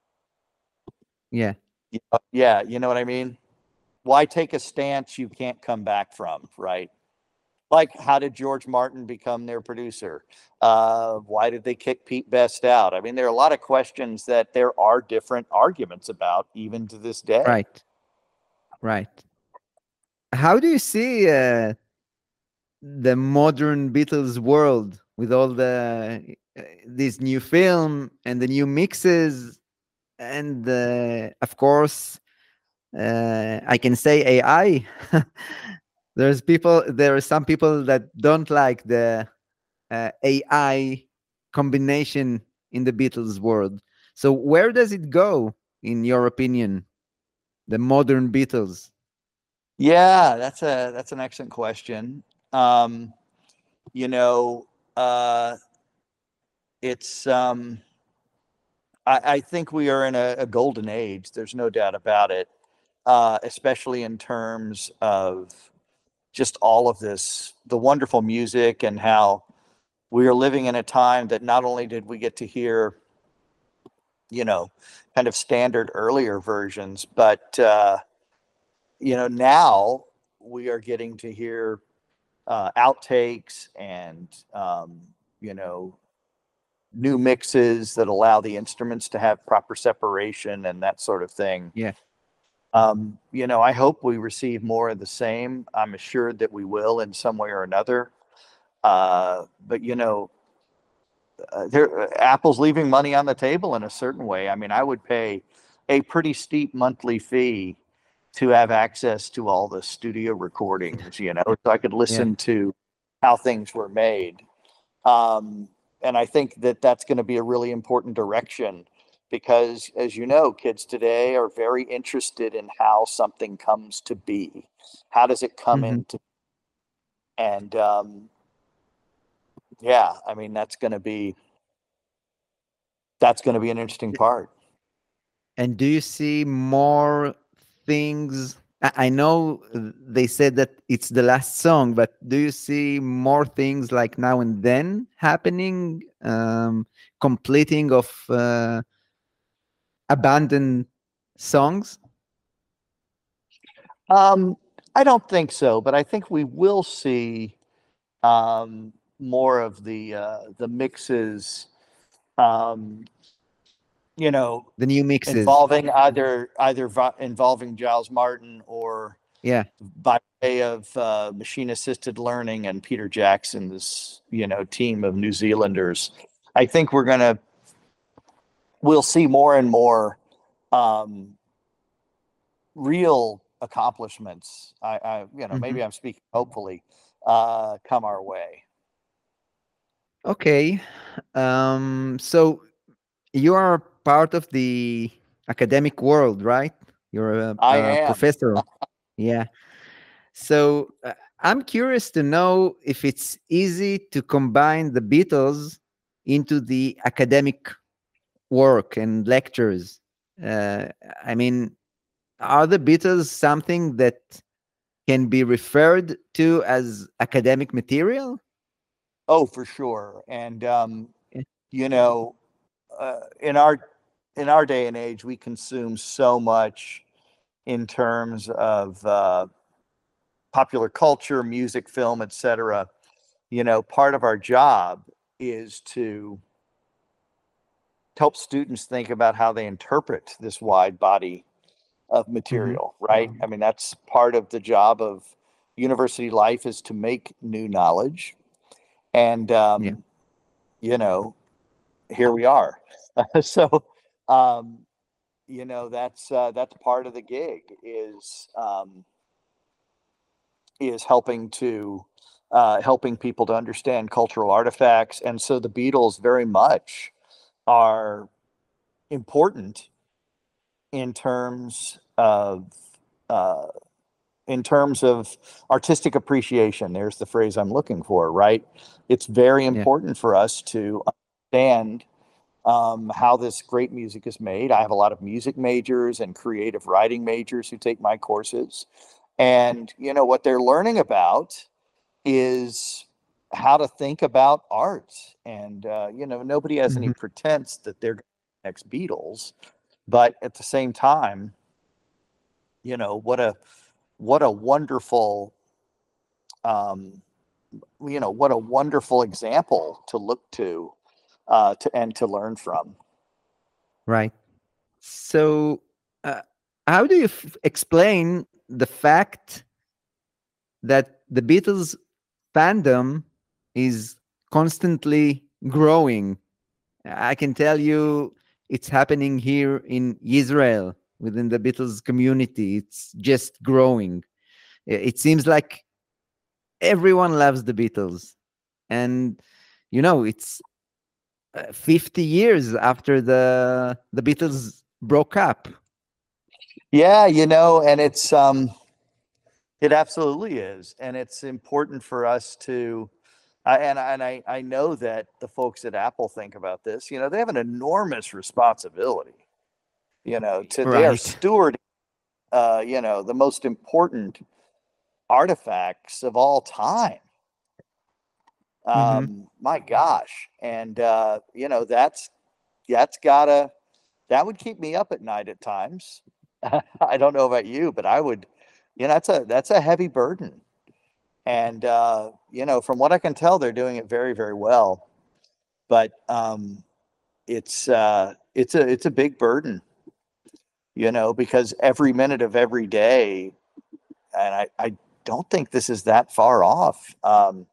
Yeah. Y- Yeah, you know what I mean? Why take a stance you can't come back from, right? Like, how did George Martin become their producer? Uh, why did they kick Pete Best out? I mean, there are a lot of questions that there are different arguments about, even to this day. Right. Right. How do you see uh, the modern Beatles world with all the uh, this new film and the new mixes and uh, of course uh, I can say A I. There's people. There are some people that don't like the uh, A I combination in the Beatles world. So where does it go, in your opinion, the modern Beatles? Yeah, that's a that's an excellent question. Um, you know, uh, it's um, I, I think we are in a, a golden age. There's no doubt about it, uh, especially in terms of just all of this, the wonderful music, and how we are living in a time that not only did we get to hear, you know, kind of standard earlier versions, but, uh, you know, now we are getting to hear uh, outtakes and, um, you know, new mixes that allow the instruments to have proper separation and that sort of thing. Yeah. Um, you know, I hope we receive more of the same. I'm assured that we will in some way or another. Uh, but you know, uh, there, uh, Apple's leaving money on the table in a certain way. I mean, I would pay a pretty steep monthly fee to have access to all the studio recordings, you know, so I could Yeah. listen to how things were made. Um, and I think that that's going to be a really important direction because, as you know, kids today are very interested in how something comes to be. How does it come Hmm. into? And um, yeah, I mean, that's going to be that's going to be an interesting part. And do you see more things? I I know they said that it's the last song, but do you see more things like now and then happening, um, completing of uh, abandoned songs? Um, I don't think so, but I think we will see um, more of the uh, the mixes. Um, you know, The new mixes. involving either either vi- involving Giles Martin or Yeah. by way of uh, machine assisted learning and Peter Jackson's, you know, team of New Zealanders. I think we're gonna we'll see more and more um, real accomplishments. I, I you know, Mhm. maybe I'm speaking hopefully uh, come our way. Okay. Um, so you are part of the academic world, right? You're a, I a am. professor. Yeah. So uh, I'm curious to know if it's easy to combine the Beatles into the academic work and lectures. Uh, I mean, are the Beatles something that can be referred to as academic material? Oh, for sure. And um, Yeah. you know, uh, in our in our day and age, we consume so much in terms of uh, popular culture, music, film, et cetera. You know, part of our job is to help students think about how they interpret this wide body of Mhm. material, right? I mean, that's part of the job of university life is to make new knowledge. And, Yeah. um, you know, here we are. so, um, you know, that's uh, that's part of the gig is um, is helping to uh, helping people to understand cultural artifacts. And so the Beatles very much are important in terms of uh, in terms of artistic appreciation. There's the phrase I'm looking for, right? It's very Yeah. important for us to understand um, how this great music is made. I have a lot of music majors and creative writing majors who take my courses. And, you know, what they're learning about is how to think about art. And, uh, you know, nobody has any Mhm. pretense that they're the next Beatles. But at the same time, you know, what a what a wonderful um, you know, what a wonderful example to look to uh, to and to learn from. Right. So, uh, how do you f- explain the fact that the Beatles fandom is constantly growing? I can tell you it's happening here in Israel within the Beatles community. It's just growing. I- It seems like everyone loves the Beatles. And, you know, it's uh, fifty years after the the Beatles broke up. Yeah, you know, and it's um, it absolutely is, and it's important for us to. I and I and I I know that the folks at Apple think about this. You know, they have an enormous responsibility. You know, to they are Right. stewarding, uh, you know, the most important artifacts of all time. Hmm. Um, my gosh, and uh, you know, that's that's gotta that would keep me up at night at times. I don't know about you, but I would, you know, that's a that's a heavy burden. And uh, you know, from what I can tell, they're doing it very, very well. But um, it's uh, it's a it's a big burden, you know, because every minute of every day, and I, I don't think this is that far off. Um,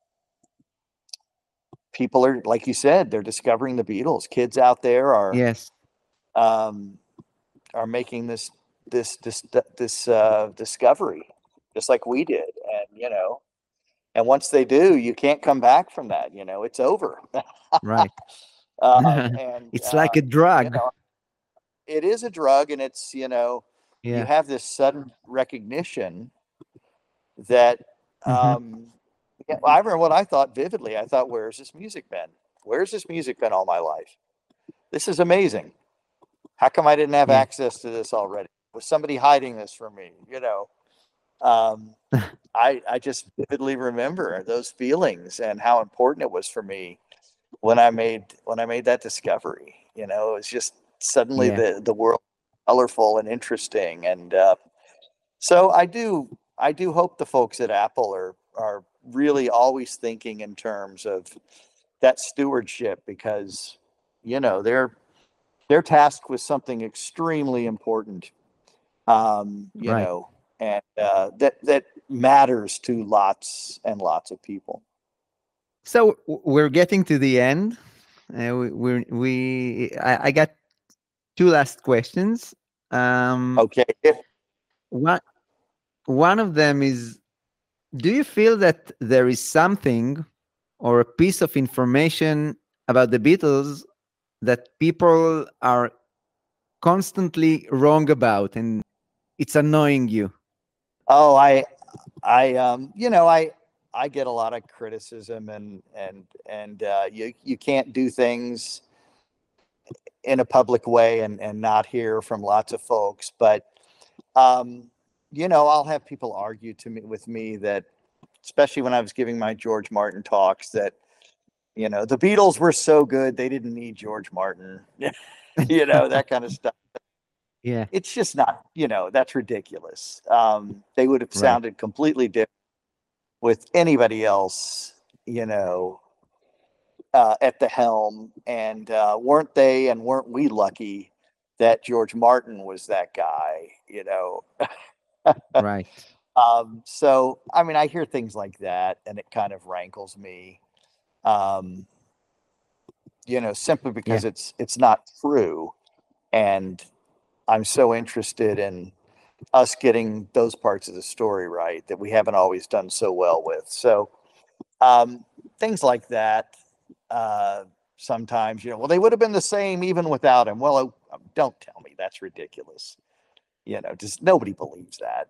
people are, like you said, they're discovering the Beatles. Kids out there are Yes. um, are making this this this this uh, discovery, just like we did, and you know, and once they do, you can't come back from that. You know, it's over. Right. um, and It's uh, like a you drug. know, it is a drug, and it's you know, you Yeah. have this sudden recognition that Hmm. um, Yeah, I remember what I thought vividly. I thought, where's this music been? Where's this music been all my life? This is amazing. How come I didn't have Yeah. access to this already? Was somebody hiding this from me? You know, um, I I just vividly remember those feelings and how important it was for me when I made when I made that discovery. You know, it was just suddenly Yeah. the the world colorful and interesting, and uh, so I do I do hope the folks at Apple are are really always thinking in terms of that stewardship, because you know they're they're tasked with something extremely important, um, you Right. know, and uh, that that matters to lots and lots of people. So w- we're getting to the end. Uh, we we we I, I got two last questions. Um, Okay, one one of them is: do you feel that there is something or a piece of information about the Beatles that people are constantly wrong about, and it's annoying you? oh, I I um, you know I I get a lot of criticism, and and and uh, you you can't do things in a public way and and not hear from lots of folks, but um, you know I'll have people argue to me with me that, especially when I was giving my George Martin talks, that you know the Beatles were so good they didn't need George Martin, you know that kind of stuff. Yeah. It's just not, you know that's ridiculous. Um, they would have Right. sounded completely different with anybody else, you know, uh, at the helm. And uh, weren't they and weren't we lucky that George Martin was that guy, you know? Right. Um, so, I mean, I hear things like that and it kind of rankles me, um, you know, simply Yeah. because it's it's not true. And I'm so interested in us getting those parts of the story right that we haven't always done so well with. So, um, things like that. Uh, sometimes, you know, well, they would have been the same even without him. Well, oh, um, don't tell me that's ridiculous. You know, just nobody believes that.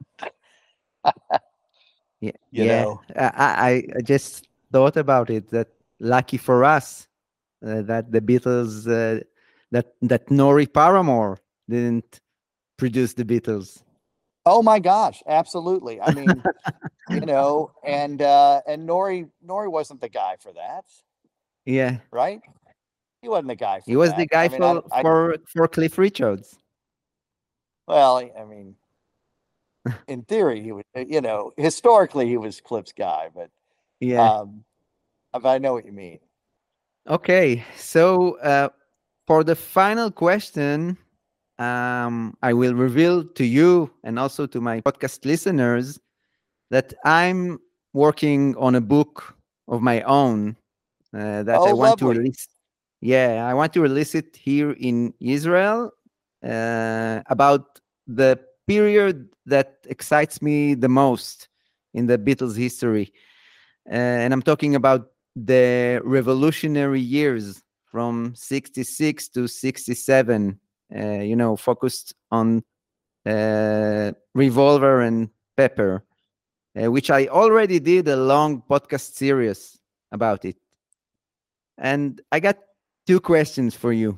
Yeah. You Yeah. know, I, I I just thought about it, that lucky for us uh, that the Beatles, uh, that that Nori Paramore didn't produce the Beatles. oh my gosh, absolutely. I mean, you know, and uh, and Nori Nori wasn't the guy for that, Yeah. right? He wasn't the guy He for was the that. I guy mean, I, for I for for Cliff Richards. well, I mean, in theory, he was, you know, historically he was Cliff's guy, but Yeah. um, but I know what you mean. Okay. So uh, for the final question, um, I will reveal to you and also to my podcast listeners that I'm working on a book of my own uh, that Oh, I want to lovely. release. Yeah, I want to release it here in Israel uh, about the period that excites me the most in the Beatles' history. Uh, and I'm talking about the revolutionary years from sixty-six to sixty-seven, uh, you know, focused on uh, Revolver and Pepper, uh, which I already did a long podcast series about it. And I got two questions for you.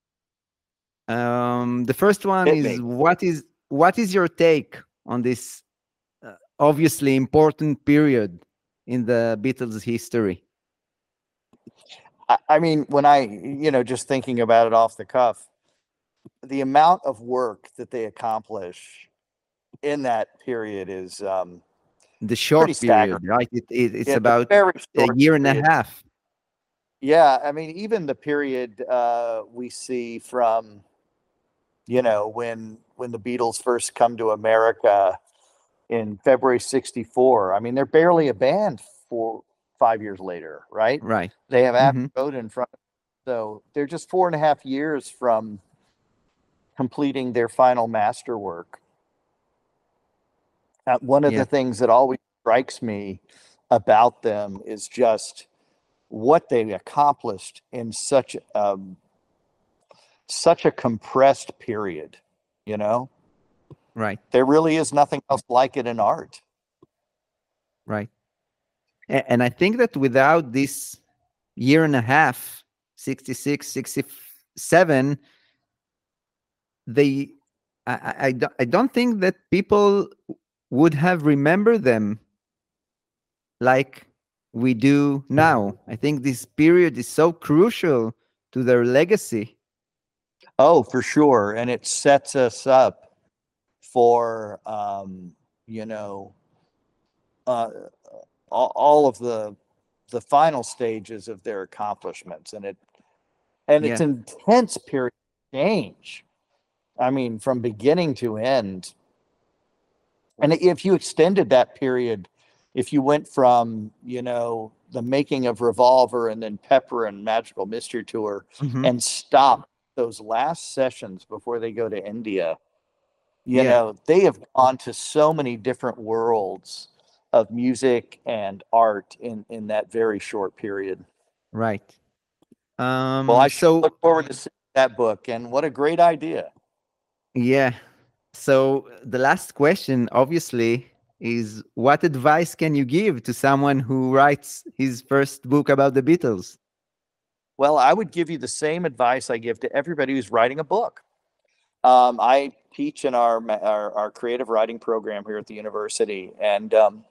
Um, the first one Hit is: me. what is what is your take on this uh, obviously important period in the Beatles' history? I, I mean, when I, you know, just thinking about it off the cuff, the amount of work that they accomplish in that period is um, The pretty short period, staggering. right? It, it, it's Yeah, the about very a short year and a period. half. Yeah, I mean, even the period uh, we see from, you know, when when the Beatles first come to America in February sixty-four. I mean, they're barely a band for five years later, right? Right. They have Abbey Hmm. Road in front. So they're just four and a half years from completing their final masterwork. Uh, one of the Yeah. things that always strikes me about them is just what they accomplished in such um, such a compressed period. You know, Right. there really is nothing else like it in art. Right. A- And I think that without this year and a half, sixty-six, sixty-seven, they, I, I, I don't- I don't think that people would have remembered them like we do now. I think this period is so crucial to their legacy. Oh, for sure. And it sets us up for, um, you know, uh, all, all of the the final stages of their accomplishments. And it and it's Yeah. an intense period of change. I mean, from beginning to end. And if you extended that period, if you went from, you know, the making of Revolver and then Pepper and Magical Mystery Tour Mhm. and stop those last sessions before they go to India, you Yeah. know, they have gone to so many different worlds of music and art in, in that very short period. Right. Um, Well, I sure so look forward to seeing that book, and what a great idea. yeah. So the last question, obviously, is what advice can you give to someone who writes his first book about the Beatles? Well, I would give you the same advice I give to everybody who's writing a book. Um, I teach in our, ma- our our creative writing program here at the university, and um,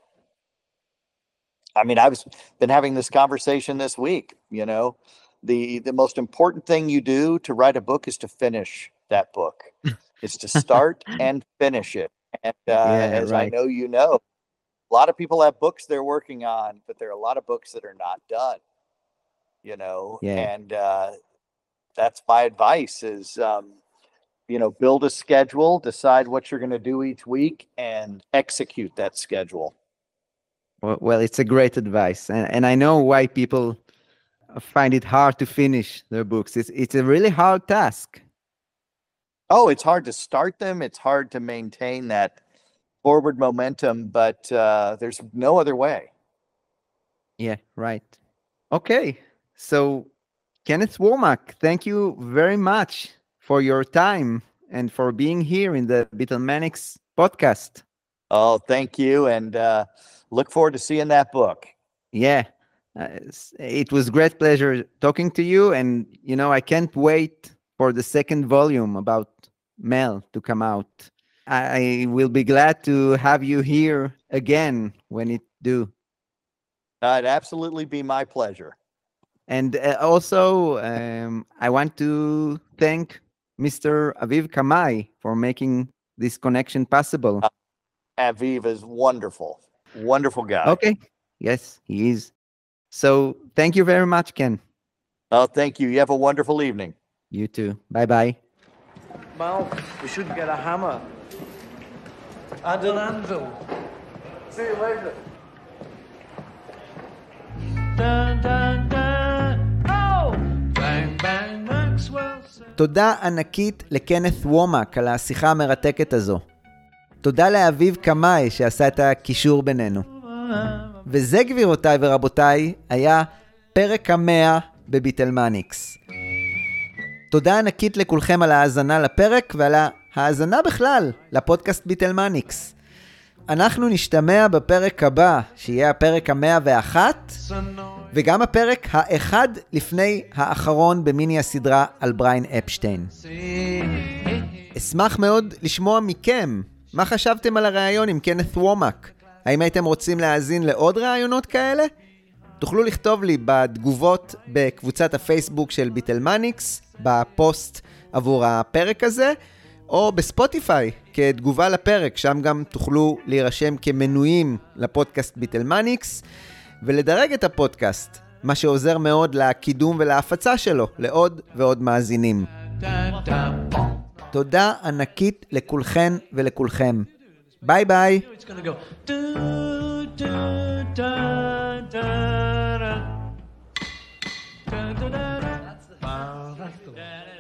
I mean, I've been having this conversation this week. You know, the the most important thing you do to write a book is to finish that book. It's to start and finish it. And uh, Yeah, as I right. know, you know, a lot of people have books they're working on, but there are a lot of books that are not done. You know, Yeah. and uh, that's my advice: is um, you know, build a schedule, decide what you're going to do each week, and execute that schedule. Well, well, it's a great advice, and and I know why people find it hard to finish their books. It's it's a really hard task. Oh, it's hard to start them. It's hard to maintain that forward momentum, but uh, there's no other way. Yeah, right. Okay, so Kenneth Womack, thank you very much for your time and for being here in the Beatlemanics podcast. Oh, thank you, and uh, look forward to seeing that book. Yeah, uh, s- it was great pleasure talking to you, and you know I can't wait for the second volume about Mel to come out. I will be glad to have you here again when it do. Uh, it'd absolutely be my pleasure. And uh, also, um, I want to thank Mister Aviv Kamai for making this connection possible. Aviv is wonderful, wonderful guy. Okay. Yes, he is. So thank you very much, Ken. Oh, thank you. You have a wonderful evening. You too. Bye bye. Mal, we should get a hammer and an anvil. See you later. Dun, dun, dun. Oh! Bang, bang, Maxwell said. תודה ענקית לקנת וומק על השיחה המרתקת הזו. תודה לאביב קמאי שעשה את הקישור בינינו. וזה, גבירותיי ורבותיי, היה פרק המאה בביטלמניקס. תודה ענקית לכולכם על ההאזנה לפרק ועל ההאזנה בכלל לפודקאסט ביטלמניקס. אנחנו נשתמע בפרק הבא, שיהיה הפרק המאה ואחת, וגם הפרק האחד לפני האחרון במיני הסדרה על בריין אפשטיין. אשמח מאוד לשמוע מכם. מה חשבתם על הראיון עם קנת וומק? האם הייתם רוצים להאזין לעוד ראיונות כאלה? תוכלו לכתוב לי בתגובות בקבוצת הפייסבוק של ביטלמניקס, בפוסט עבור הפרק הזה, או בספוטיפיי כתגובה לפרק, שם גם תוכלו להירשם כמנויים לפודקאסט ביטלמניקס, ולדרג את הפודקאסט, מה שעוזר מאוד לקידום ולהפצה שלו לעוד ועוד מאזינים. תודה ענקית לכולכן ולכולכם. ביי ביי. It's gonna go. Do, do, da, da, da. Da, da, da, da. Wow, that's the one.